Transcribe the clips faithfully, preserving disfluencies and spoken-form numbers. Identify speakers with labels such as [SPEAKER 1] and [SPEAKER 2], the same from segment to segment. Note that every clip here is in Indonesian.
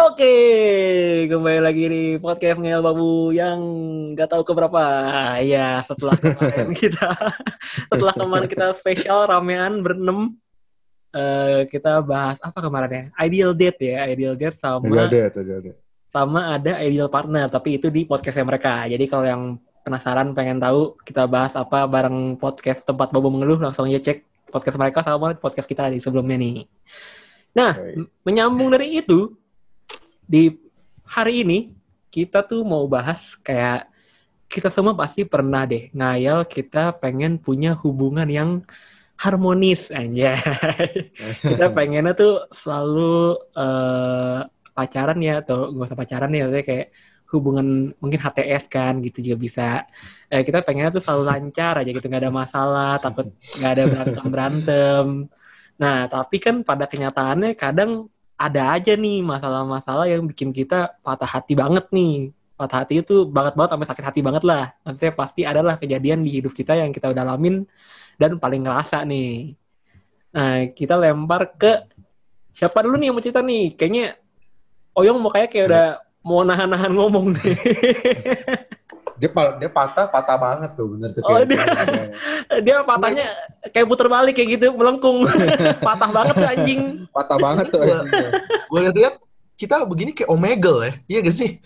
[SPEAKER 1] Oke, kembali lagi di podcast Ngel Babu yang nggak tahu keberapa. Ya, setelah kemarin kita, setelah kemarin kita spesial ramean berenam, eh, kita bahas apa kemarin ya? Ideal date ya, ideal date
[SPEAKER 2] Ideal
[SPEAKER 1] sama
[SPEAKER 2] date, ideal date.
[SPEAKER 1] sama ada ideal partner, tapi itu di podcastnya mereka. Jadi kalau yang penasaran pengen tahu kita bahas apa bareng podcast tempat Babu mengeluh, langsung aja cek podcast mereka sama podcast kita di sebelumnya nih. Nah,
[SPEAKER 2] Baik.
[SPEAKER 1] menyambung dari itu. Di hari ini kita tuh mau bahas kayak kita semua pasti pernah deh ngayal kita pengen punya hubungan yang harmonis aja. Kita pengennya tuh selalu uh, pacaran ya atau nggak usah pacaran ya, maksudnya kayak hubungan mungkin H T S kan gitu juga bisa. Eh, kita pengennya tuh selalu lancar aja gitu, nggak ada masalah, takut nggak ada berantem berantem. Nah tapi kan pada kenyataannya kadang ada aja nih masalah-masalah yang bikin kita patah hati banget nih. Patah hati itu banget-banget sampai sakit hati banget lah. Maksudnya pasti adalah kejadian di hidup kita yang kita udah alamin dan paling ngerasa nih. Nah, kita lempar ke siapa dulu nih yang mau cerita nih? Kayaknya Oyong mau kayak kayak udah mau nahan-nahan ngomong nih.
[SPEAKER 2] Dia dia patah, patah banbanget tuh, bener tuh.
[SPEAKER 1] Oh,
[SPEAKER 2] kayak
[SPEAKER 1] dia, dia patahnya kayak puter balik kayak gitu, melengkung. Patah banget tuh anjing.
[SPEAKER 2] Patah banget tuh anjing.
[SPEAKER 3] Gue lihat kita begini kayak Omegle ya, iya gak sih?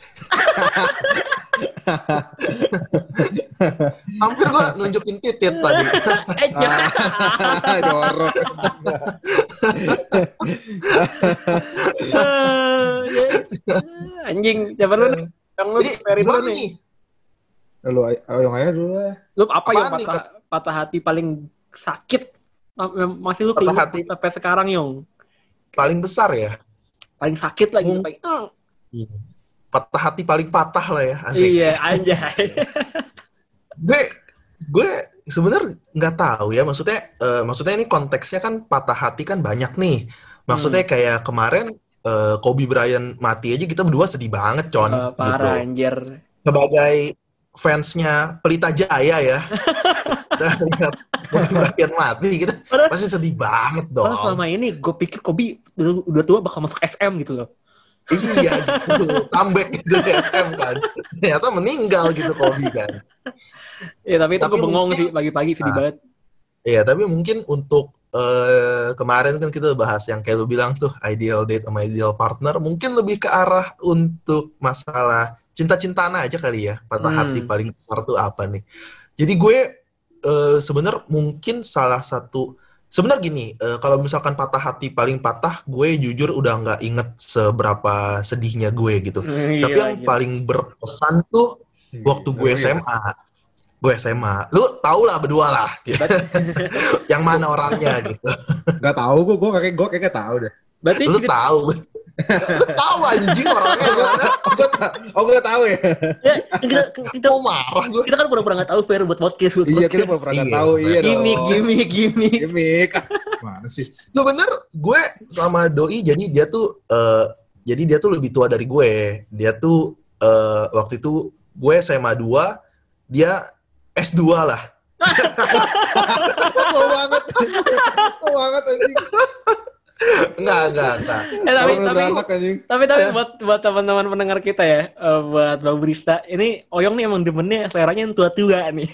[SPEAKER 3] Hampir gue nunjukin titit tadi.
[SPEAKER 1] Eh, jangan.
[SPEAKER 2] Ah, jorok.
[SPEAKER 1] Anjing, siapa lu nih? Yang lu
[SPEAKER 3] Jadi
[SPEAKER 1] Ferry dulu
[SPEAKER 3] gimana
[SPEAKER 1] nih.
[SPEAKER 3] nih?
[SPEAKER 2] Lu ayo aja dulu lah.
[SPEAKER 1] Lu apa yang
[SPEAKER 3] Apaan nih,
[SPEAKER 1] patah, patah hati paling sakit? Masih lu
[SPEAKER 3] Patah
[SPEAKER 1] keinget
[SPEAKER 3] hati.
[SPEAKER 1] sampai sekarang, Yong?
[SPEAKER 3] Paling besar ya?
[SPEAKER 1] Paling sakit lagi.
[SPEAKER 3] Hmm.
[SPEAKER 1] Paling, oh.
[SPEAKER 3] Patah hati paling patah lah ya, asik.
[SPEAKER 1] Iya, anjay.
[SPEAKER 3] gue gue sebenarnya nggak tahu ya, maksudnya uh, maksudnya ini konteksnya kan patah hati kan banyak nih. Maksudnya
[SPEAKER 1] Hmm.
[SPEAKER 3] kayak kemarin uh, Kobe Bryant mati aja kita berdua sedih banget, Con.
[SPEAKER 1] Uh, parah,
[SPEAKER 3] gitu.
[SPEAKER 1] anjir.
[SPEAKER 3] Sebagai fansnya Pelita Jaya ya. Kobe Bryant mati kita
[SPEAKER 1] Padahal-
[SPEAKER 3] pasti sedih banget dong.
[SPEAKER 1] Padahal selama ini gue pikir Kobe udah, udah tua bakal masuk S M gitu loh.
[SPEAKER 3] Iya gitu, comeback gitu di S M kan. Ternyata meninggal gitu Kobe kan.
[SPEAKER 1] Ya tapi itu
[SPEAKER 3] Tapi
[SPEAKER 1] gue bengong
[SPEAKER 3] mungkin-
[SPEAKER 1] sih pagi-pagi sedih
[SPEAKER 3] Ah.
[SPEAKER 1] banget.
[SPEAKER 3] Iya, tapi mungkin untuk uh, kemarin kan kita bahas yang kayak lu bilang tuh, ideal date sama ideal partner, mungkin lebih ke arah untuk masalah cinta-cintaan aja kali ya. Patah
[SPEAKER 1] Hmm.
[SPEAKER 3] hati paling besar tuh apa nih. Jadi gue uh, sebenarnya mungkin salah satu, sebenarnya gini, uh, kalau misalkan patah hati paling patah, gue jujur udah nggak inget seberapa sedihnya gue gitu.
[SPEAKER 1] Hmm,
[SPEAKER 3] Tapi
[SPEAKER 1] gila,
[SPEAKER 3] yang
[SPEAKER 1] gila.
[SPEAKER 3] paling berkesan tuh waktu gue S M A. Gue S M A. Lu tau lah berdua lah. Gitu. Yang mana orangnya gitu.
[SPEAKER 2] Gak tahu gue, gue kayak gue kayak gak tahu deh.
[SPEAKER 1] Berarti
[SPEAKER 3] Lu
[SPEAKER 1] cerita,
[SPEAKER 3] tahu. Lu tahu anjing orangnya mana.
[SPEAKER 2] Oh gue tahu, oh gue tahu ya.
[SPEAKER 1] ya, kita, kita,
[SPEAKER 3] Mau marah gue.
[SPEAKER 1] kita kan pura-pura nggak tahu Fer buat podcast. Buat
[SPEAKER 2] Iya
[SPEAKER 1] podcast.
[SPEAKER 2] kita pernah pernah
[SPEAKER 3] Iya,
[SPEAKER 2] tahu, iya dong.
[SPEAKER 1] Gimik, gimik, gimik.
[SPEAKER 2] Gimik. Mana sih?
[SPEAKER 3] Sebener gue sama Doi jadi dia tuh uh, jadi dia tuh lebih tua dari gue. Dia tuh uh, waktu itu gue S M A dua, dia S dua lah.
[SPEAKER 2] Tua banget. Tua banget anjing.
[SPEAKER 3] Enggak, enggak, enggak.
[SPEAKER 1] Eh, tapi,
[SPEAKER 2] Orang
[SPEAKER 1] tapi,
[SPEAKER 2] anak anjing.
[SPEAKER 1] tapi, tapi buat buat teman-teman pendengar kita ya, eh, buat Bang Brista, ini Oyong nih emang demennya seleranya yang tua-tua nih.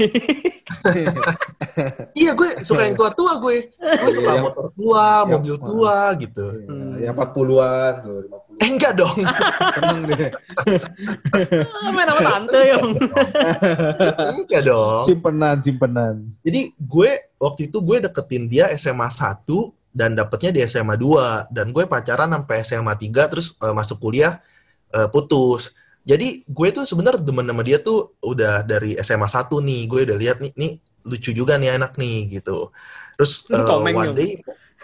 [SPEAKER 3] Iya, gue suka yang tua-tua gue. Gue suka
[SPEAKER 2] Iya.
[SPEAKER 3] motor tua,
[SPEAKER 2] Yang-
[SPEAKER 3] mobil tua gitu.
[SPEAKER 1] Hmm.
[SPEAKER 2] Ya empat puluhan, lima puluh.
[SPEAKER 3] Eh, enggak dong.
[SPEAKER 2] Tenang deh.
[SPEAKER 1] Main sama tante Yong.
[SPEAKER 3] Enggak dong.
[SPEAKER 2] Simpenan, simpenan.
[SPEAKER 3] Jadi gue waktu itu gue deketin dia S M A satu dan dapetnya di S M A dua, dan gue pacaran sampai S M A tiga terus uh, masuk kuliah uh, putus. Jadi gue tuh sebenarnya demen sama dia tuh udah dari S M A satu nih. Gue udah lihat nih, nih lucu juga nih anak nih gitu. Terus
[SPEAKER 1] Ini
[SPEAKER 3] uh,
[SPEAKER 1] komeng
[SPEAKER 3] one
[SPEAKER 1] dong.
[SPEAKER 3] day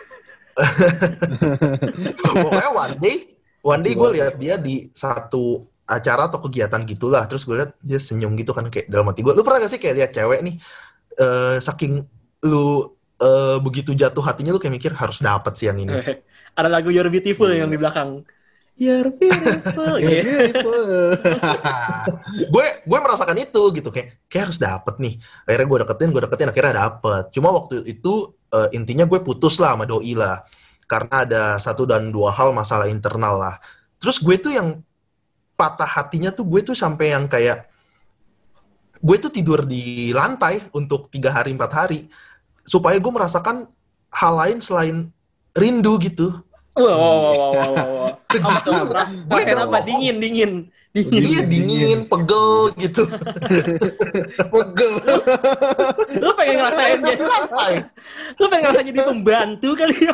[SPEAKER 3] pokoknya one day one day gue lihat dia di satu acara atau kegiatan gitulah. Terus gue lihat dia senyum gitu kan, kayak dalam hati gue, lu pernah gak sih kayak lihat cewek nih uh, saking lu uh, begitu jatuh hatinya lu kayak mikir harus dapet sih yang ini.
[SPEAKER 1] Ada lagu You're Beautiful
[SPEAKER 3] Iya.
[SPEAKER 1] yang di belakang. You're beautiful.
[SPEAKER 2] Ya,
[SPEAKER 1] Gitu.
[SPEAKER 2] beautiful.
[SPEAKER 3] gue gue merasakan itu gitu, kayak kayak harus dapet nih. Akhirnya gue deketin gue deketin akhirnya dapet. Cuma waktu itu uh, intinya gue putus lah sama doi lah, karena ada satu dan dua hal masalah internal lah. Terus gue tuh yang patah hatinya tuh gue tuh sampai yang kayak gue tuh tidur di lantai untuk tiga hari empat hari supaya gue merasakan hal lain selain rindu gitu.
[SPEAKER 1] Wah, wah, wah, wah, wah, wah, wah. Apa tuh?
[SPEAKER 3] Gue
[SPEAKER 1] Rasain apa? Dingin, dingin. Dingin.
[SPEAKER 3] Iya dingin, pegel gitu.
[SPEAKER 2] Pegel.
[SPEAKER 1] Lu pengen ngerasain jadi
[SPEAKER 3] lantai.
[SPEAKER 1] Lu pengen ngerasain jadi pembantu kali ya.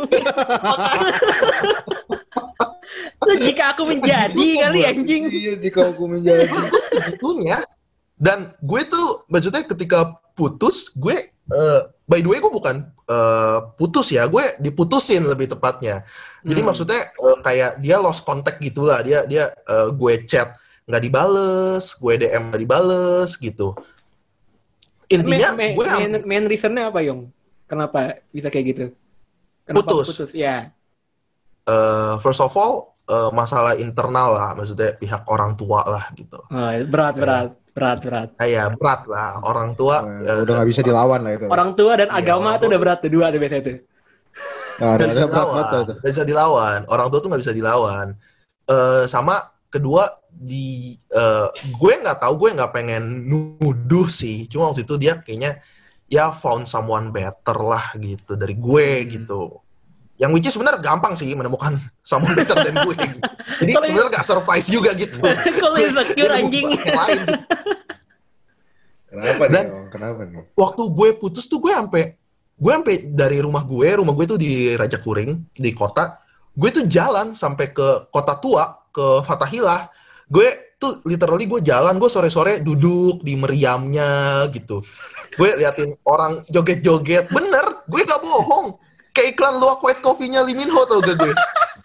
[SPEAKER 1] Lu jika aku menjadi kali anjing.
[SPEAKER 2] Iya, jika aku menjadi.
[SPEAKER 3] Gue segitunya. Dan gue tuh maksudnya ketika putus, gue uh, by the way gue bukan uh, putus ya, gue diputusin lebih tepatnya. Jadi hmm. maksudnya uh, kayak dia lost contact gitulah, dia dia uh, gue chat nggak dibales, gue D M nggak dibales gitu. Intinya
[SPEAKER 1] main,
[SPEAKER 3] gue
[SPEAKER 1] main, main, main reasonnya apa Yong? Kenapa bisa kayak gitu? Kenapa
[SPEAKER 3] putus?
[SPEAKER 1] Putus ya.
[SPEAKER 3] Uh, first of all uh, masalah internal lah, maksudnya pihak orang tua lah gitu.
[SPEAKER 1] Oh, berat berat. Uh, Berat, berat.
[SPEAKER 3] Kayak berat lah. Orang tua...
[SPEAKER 2] Nah, uh, udah gak bisa dilawan lah itu.
[SPEAKER 1] Orang tua dan
[SPEAKER 3] iya,
[SPEAKER 1] agama tuh udah berat tuh. Dua tuh biasanya tuh.
[SPEAKER 2] Nah, ada, ada berat banget tuh.
[SPEAKER 3] Gak bisa dilawan. Orang tua tuh gak bisa dilawan. Uh, sama kedua, di uh, gue gak tahu, gue gak pengen nuduh sih. Cuma waktu itu dia kayaknya ya found someone better lah gitu. Dari gue hmm. gitu. Yang which is sebenarnya gampang sih menemukan someone better than gue. Gitu. Jadi sebenarnya gak surprise juga gitu.
[SPEAKER 1] Kalau insecure anjing.
[SPEAKER 3] Gitu.
[SPEAKER 2] Kenapa
[SPEAKER 3] Dan
[SPEAKER 2] nih? Kenapa nih?
[SPEAKER 3] Waktu gue putus tuh gue sampai gue sampai dari rumah gue, rumah gue tuh di Raja Kuring di kota. Gue tuh jalan sampai ke Kota Tua, ke Fathahilah. Gue tuh literally gue jalan, gue sore-sore duduk di meriamnya gitu. Gue liatin orang joget-joget. Bener, gue gak bohong. Kayak iklan luwak white coffee-nya Lee Min Ho tau gak gue?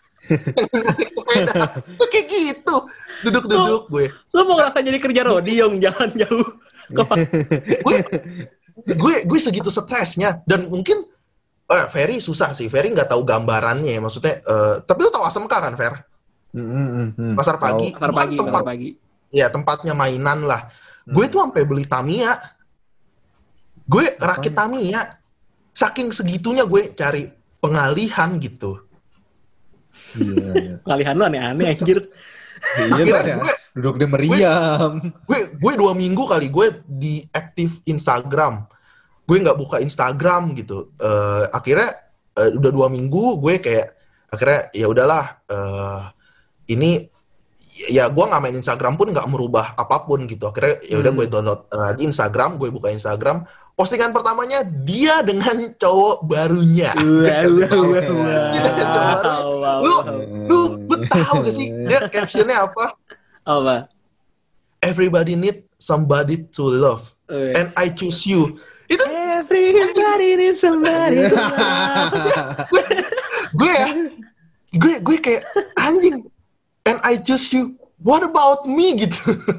[SPEAKER 3] Kayak gitu. Duduk-duduk gue.
[SPEAKER 1] Lu mau ngerasain jadi kerja rodi yang jalan jauh.
[SPEAKER 3] gue, gue gue segitu stresnya. Dan mungkin eh, Ferry susah sih. Ferry gak tahu gambarannya. Maksudnya, uh, tapi lu tahu A S M K kan, Fer?
[SPEAKER 2] Mm-hmm.
[SPEAKER 3] Pasar pagi.
[SPEAKER 1] Pasar pagi,
[SPEAKER 3] tempat,
[SPEAKER 1] pasar pagi.
[SPEAKER 3] Ya, tempatnya mainan lah. Hmm. Gue tuh sampai beli Tamiya. Gue rakit Tamiya. Saking segitunya gue cari pengalihan gitu.
[SPEAKER 2] Iya, iya.
[SPEAKER 1] Pengalihan lu aneh-aneh anjir.
[SPEAKER 2] Iya, akhirnya gue duduk di meriam.
[SPEAKER 3] Gue, gue dua minggu kali gue diaktif Instagram. Gue nggak buka Instagram gitu. Uh, akhirnya uh, udah dua minggu gue kayak akhirnya ya udahlah. Uh, ini ya gue nggak main Instagram pun nggak merubah apapun gitu. Akhirnya ya udah hmm. gue download uh, di Instagram, gue buka Instagram. Postingan pertamanya dia dengan cowok barunya.
[SPEAKER 1] Wow, wow, wow.
[SPEAKER 3] Lu, lu, lu tahu gak sih dia captionnya apa?
[SPEAKER 1] Apa?
[SPEAKER 3] Everybody need somebody to love, uh, and I choose you. Itu
[SPEAKER 1] everybody need somebody to love.
[SPEAKER 3] gue ya, gue gue kayak anjing, and I choose you. What about me gitu?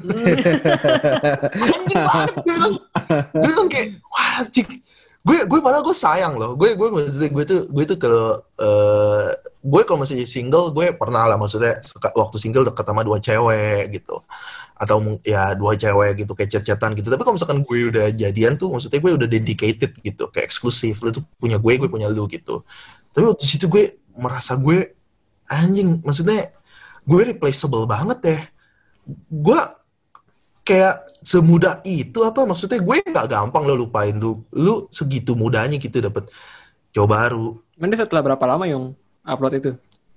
[SPEAKER 3] Anjing banget gue bilang. Gue bilang kayak wah anjing. Gue gue padahal gue sayang loh. Gue gue maksudnya gue tuh gue tuh kalau uh, gue kalau masih single gue pernah lah maksudnya waktu single deket sama dua cewek gitu. Atau ya dua cewek gitu kayak chat-chatan gitu. Tapi kalau misalkan gue udah jadian tuh maksudnya gue udah dedicated gitu, kayak eksklusif. Lu tuh punya gue, gue punya lu gitu. Tapi waktu situ gue merasa gue anjing, maksudnya gue replaceable banget deh. Gue kayak semudah itu apa maksudnya gue nggak gampang lo lupain lu. Lu segitu mudahnya gitu dapet cowok baru.
[SPEAKER 1] Nanti setelah berapa lama yang upload itu?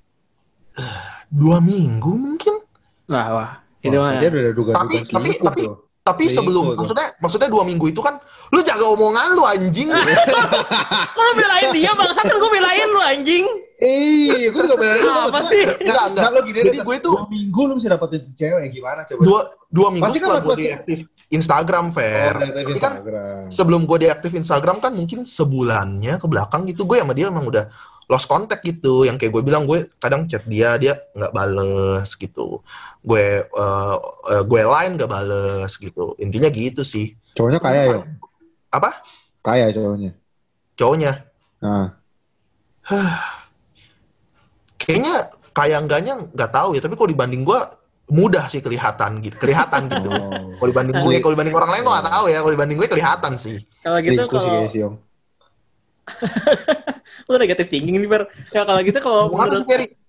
[SPEAKER 3] Dua minggu mungkin.
[SPEAKER 1] Wah wah. Itu
[SPEAKER 2] mah. Dia udah duga-duga
[SPEAKER 3] tapi tapi tapi tuh. Tapi sebelum, maksudnya maksudnya dua minggu itu kan, lu jaga omongan lu anjing.
[SPEAKER 1] Lu belain dia bangsa kan gue belain lu anjing.
[SPEAKER 2] Iya, gue juga belain lu.
[SPEAKER 1] Apa sih?
[SPEAKER 2] Enggak, enggak. Lo gini,
[SPEAKER 3] jadi gue itu
[SPEAKER 2] dua minggu lu bisa dapetin cewek, gimana coba?
[SPEAKER 3] Dua, dua minggu
[SPEAKER 2] pasti
[SPEAKER 3] setelah
[SPEAKER 2] kan,
[SPEAKER 3] gue diaktif Instagram, Fer.
[SPEAKER 2] Oh,
[SPEAKER 3] jadi kan sebelum gue diaktif Instagram kan mungkin sebulannya ke belakang gitu, gue sama dia emang udah lost contact gitu. Yang kayak gue bilang, gue kadang chat dia, dia nggak bales gitu. Gue uh, uh, gue line nggak bales gitu. Intinya gitu sih.
[SPEAKER 2] Cowoknya kaya ya?
[SPEAKER 3] Apa?
[SPEAKER 2] Kaya cowoknya.
[SPEAKER 3] Cowoknya?
[SPEAKER 2] Nah.
[SPEAKER 3] Kayaknya kaya enggaknya nggak tahu ya. Tapi kalau dibanding gue mudah sih kelihatan gitu. Kelihatan gitu. Oh. Kalau dibanding gue, kalau dibanding orang lain gue nggak tahu ya. Kalau dibanding gue kelihatan sih.
[SPEAKER 1] Kalau gitu kalau lu negatif thinking nih, Ber. Ya kalau gitu kalau menurut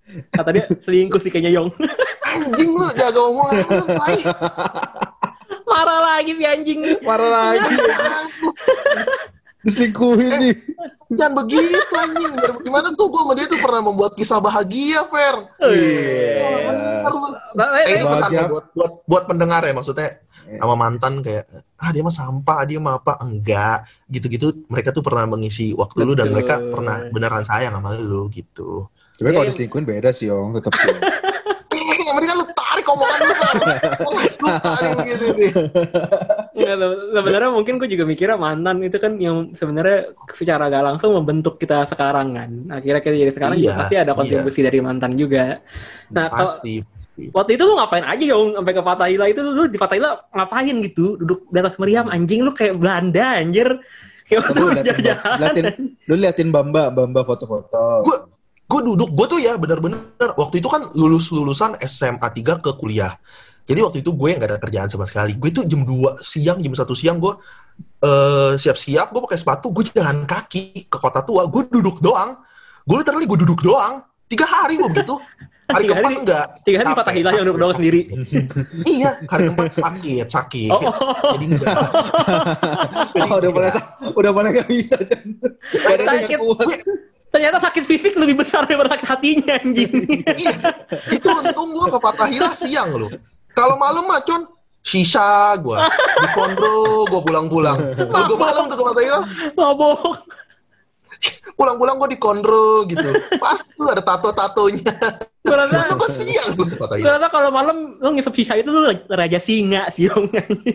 [SPEAKER 1] Kata dia selingkuh sih kayaknya Yong.
[SPEAKER 3] Anjing lu, jaga omongan lu, tai.
[SPEAKER 1] Marah lagi nih anjing.
[SPEAKER 2] Marah lagi. Diselingkuhin nih.
[SPEAKER 3] Jangan begitu anjing. Biar gimana tuh gue sama dia tuh pernah membuat kisah bahagia, Fer.
[SPEAKER 2] Iya.
[SPEAKER 3] Eh, ini pesannya buat buat buat pendengar ya, maksudnya sama mantan kayak ah dia mah sampah, dia mah apa, enggak gitu-gitu. Mereka tuh pernah mengisi waktu lu dan mereka pernah beneran sayang sama lu gitu.
[SPEAKER 2] Tapi kalau diselingkuhin beda sih, Yong, tetap sih.
[SPEAKER 3] Yang penting kan lu tarik omongan lu, Fer. Lu tarik begitu nih.
[SPEAKER 1] Enggak, sebenarnya mungkin gue juga mikirnya mantan itu kan yang sebenarnya secara gak langsung membentuk kita sekarang kan. Akhirnya kita jadi sekarang
[SPEAKER 3] Iya,
[SPEAKER 1] juga pasti ada kontribusi
[SPEAKER 3] iya.
[SPEAKER 1] dari mantan juga. Nah,
[SPEAKER 3] Pasti, pasti.
[SPEAKER 1] waktu itu lu ngapain aja Yong sampai ke Fathahila itu, lu di Fathahila ngapain gitu? Duduk di atas meriam anjing, lu kayak Belanda anjir. Kayak
[SPEAKER 2] Lu
[SPEAKER 1] waktu
[SPEAKER 2] liatin,
[SPEAKER 1] jalan.
[SPEAKER 2] liatin, lu liatin Bamba, Bamba foto-foto.
[SPEAKER 3] Gue gue duduk, gue tuh ya benar-benar waktu itu kan lulus lulusan S M A tiga ke kuliah. Jadi waktu itu gue nggak ada kerjaan sama sekali. Gue tuh jam dua siang, jam satu siang gue uh, siap-siap, gue pakai sepatu, gue jalan kaki ke Kota Tua. Gue duduk doang. Gue literally gue duduk doang. Tiga hari gue begitu. Hari
[SPEAKER 1] Tiga
[SPEAKER 3] keempat
[SPEAKER 1] hari-
[SPEAKER 3] enggak.
[SPEAKER 1] Tiga hari di
[SPEAKER 3] Capek,
[SPEAKER 1] Fathahila yang
[SPEAKER 3] sakit.
[SPEAKER 1] duduk doang sendiri.
[SPEAKER 3] Iya, hari keempat sakit, sakit.
[SPEAKER 1] Oh.
[SPEAKER 3] Jadi enggak. Jadi
[SPEAKER 2] Oh, udah mulai
[SPEAKER 3] enggak.
[SPEAKER 2] udah mulai nggak bisa, Chan. Badannya
[SPEAKER 1] Sakit.
[SPEAKER 2] nggak kuat.
[SPEAKER 1] Ternyata sakit fisik lebih besar daripada sakit hatinya anjing.
[SPEAKER 3] Iya, itu untung gue ke Fathahila siang loh. Kalau malam mah Con, sisa gue di kondro, gue pulang-pulang. Kalau gue malam tuh ke Fathahila,
[SPEAKER 1] Mabok.
[SPEAKER 3] pulang-pulang gue di kondro gitu. Pasti tuh ada tato-tatonya.
[SPEAKER 1] Gue rasa,
[SPEAKER 3] Lalu gue siang gue ke
[SPEAKER 1] gue
[SPEAKER 3] Fathahila.
[SPEAKER 1] rasa kalau malam lu ngisep sisa itu lu raja singa sih Yong.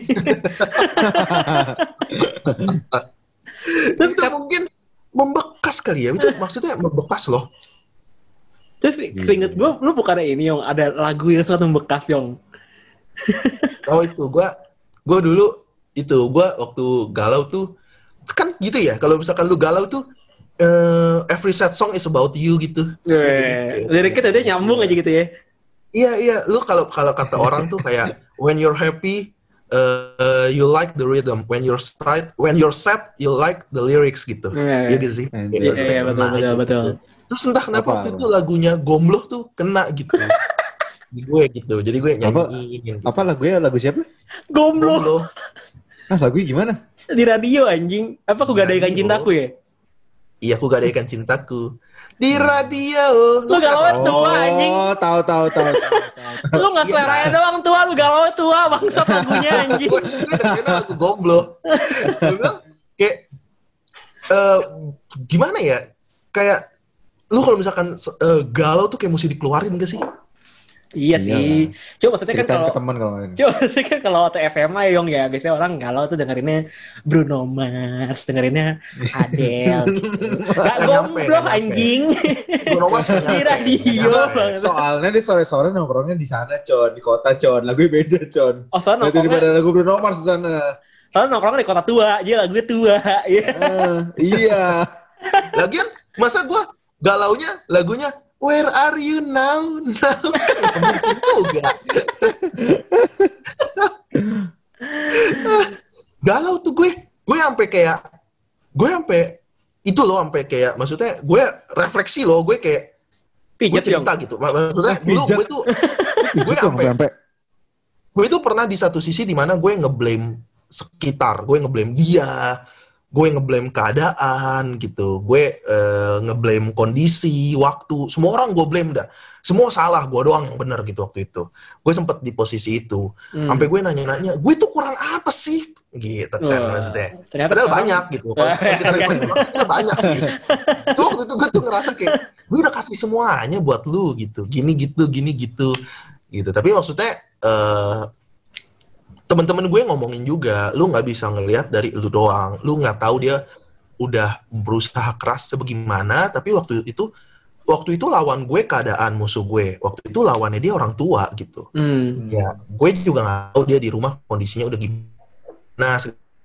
[SPEAKER 1] Terus
[SPEAKER 3] Itu mungkin membekas kali ya. Itu maksudnya membekas loh.
[SPEAKER 1] Terus keinget gue, lu bukannya ini Yong, ada lagu yang sangat membekas Yong.
[SPEAKER 3] Oh itu gue, gue dulu itu gue waktu galau tuh kan gitu ya. Kalau misalkan lu galau tuh, uh, every sad song is about you gitu.
[SPEAKER 1] Eh, liriknya tadi nyambung aja gitu ya.
[SPEAKER 3] Iya iya, lu kalau kalau kata orang tuh kayak when you're happy, uh, you like the rhythm. When you're sad, when you're sad, you like the lyrics gitu.
[SPEAKER 1] Iya,
[SPEAKER 3] Iya gitu sih.
[SPEAKER 2] Iya,
[SPEAKER 3] Kayak
[SPEAKER 1] iya,
[SPEAKER 3] maksudnya
[SPEAKER 1] iya, betul,
[SPEAKER 3] kena
[SPEAKER 1] betul,
[SPEAKER 3] gitu.
[SPEAKER 1] betul.
[SPEAKER 3] Terus entah kenapa
[SPEAKER 2] Apa,
[SPEAKER 3] waktu
[SPEAKER 2] apa?
[SPEAKER 3] itu lagunya Gombloh tuh kena gitu. Di gue gitu. Jadi gue nyanyiin. Gitu.
[SPEAKER 2] Apa lagunya? Lagu siapa?
[SPEAKER 1] Gombloh
[SPEAKER 3] Gombloh.
[SPEAKER 2] Ah, lagunya gimana?
[SPEAKER 1] di radio anjing. Apa aku
[SPEAKER 3] Di
[SPEAKER 1] gadaikan
[SPEAKER 3] radio.
[SPEAKER 1] cintaku ya?
[SPEAKER 3] Iya, aku gadaikan cintaku di radio.
[SPEAKER 1] Lu galau tua anjing.
[SPEAKER 2] Oh, tahu tahu tahu. tahu.
[SPEAKER 1] Lu nggak
[SPEAKER 3] Iya,
[SPEAKER 1] seleranya
[SPEAKER 3] kan?
[SPEAKER 1] doang tua, lu galau tua bangsat lagunya anjing.
[SPEAKER 3] Gue dengerin lagu Gombloh. Gue bilang kayak eh, gimana ya? Kayak lu kalau misalkan eh, galau tuh kayak mesti dikeluarin gak sih?
[SPEAKER 1] Iya
[SPEAKER 2] Iya
[SPEAKER 1] sih. Coba maksudnya kan
[SPEAKER 2] Ceritain
[SPEAKER 1] kalau
[SPEAKER 2] ke teman kalau ini.
[SPEAKER 1] Coba sih kan kalau waktu F M A Yong ya, biasanya orang galau tuh dengerinnya Bruno Mars, dengerinnya Adele gitu. Gak
[SPEAKER 3] Nggak nyampe,
[SPEAKER 1] gombloh
[SPEAKER 3] nggak nyampe.
[SPEAKER 1] anjing.
[SPEAKER 3] Bruno Mars nggak
[SPEAKER 1] Di
[SPEAKER 3] nyampe.
[SPEAKER 1] radio
[SPEAKER 3] Nggak nyampe.
[SPEAKER 1] banget.
[SPEAKER 2] Soalnya di sore-sore nongkrongnya di sana, Con, di kota, Con. Lagunya beda, Con.
[SPEAKER 1] Oh, soalnya
[SPEAKER 2] Itu daripada
[SPEAKER 1] nongkrongnya,
[SPEAKER 2] lagu Bruno Mars di sana.
[SPEAKER 1] soalnya nongkrongnya di kota tua, dia lagunya tua. Ya.
[SPEAKER 2] Ah, iya.
[SPEAKER 3] Lagian masa gua galaunya lagunya Where are you now? Now kan mungkin juga. Galau tuh gue. Gue sampai kayak gue sampai itu loh sampai kayak maksudnya gue refleksi loh, gue kayak gue
[SPEAKER 1] Pijet Yong.
[SPEAKER 3] cerita gitu. Maksudnya
[SPEAKER 2] Ah,
[SPEAKER 3] dulu
[SPEAKER 2] pijat.
[SPEAKER 3] gue tuh gue
[SPEAKER 2] Itu
[SPEAKER 3] sampai
[SPEAKER 2] sampai
[SPEAKER 3] gue itu pernah di satu sisi di mana gue ngeblame sekitar, gue ngeblame dia, gue ngeblame keadaan gitu, gue eh, ngeblame kondisi, waktu, semua orang gue blame dah, semua salah, gue doang yang benar gitu waktu itu. Gue sempet di posisi itu,
[SPEAKER 1] Hmm.
[SPEAKER 3] sampai gue nanya-nanya, gue tuh kurang apa sih, gitu kan
[SPEAKER 1] Wah,
[SPEAKER 3] maksudnya.
[SPEAKER 1] ternyata
[SPEAKER 3] Padahal
[SPEAKER 1] sekarang-
[SPEAKER 3] banyak gitu, kalau kita reflect sebenarnya banyak sih. Tuh waktu itu gue tuh ngerasa kayak, gue udah kasih semuanya buat lu gitu, gini gitu, gini gitu, gitu. Tapi maksudnya eh teman-teman gue ngomongin juga, lu nggak bisa ngelihat dari lu doang, lu nggak tahu dia udah berusaha keras sebagaimana, tapi waktu itu waktu itu lawan gue keadaan musuh gue, waktu itu lawannya dia orang tua gitu.
[SPEAKER 1] Hmm.
[SPEAKER 3] Ya, gue juga nggak tahu dia di rumah kondisinya udah gimana. Nah,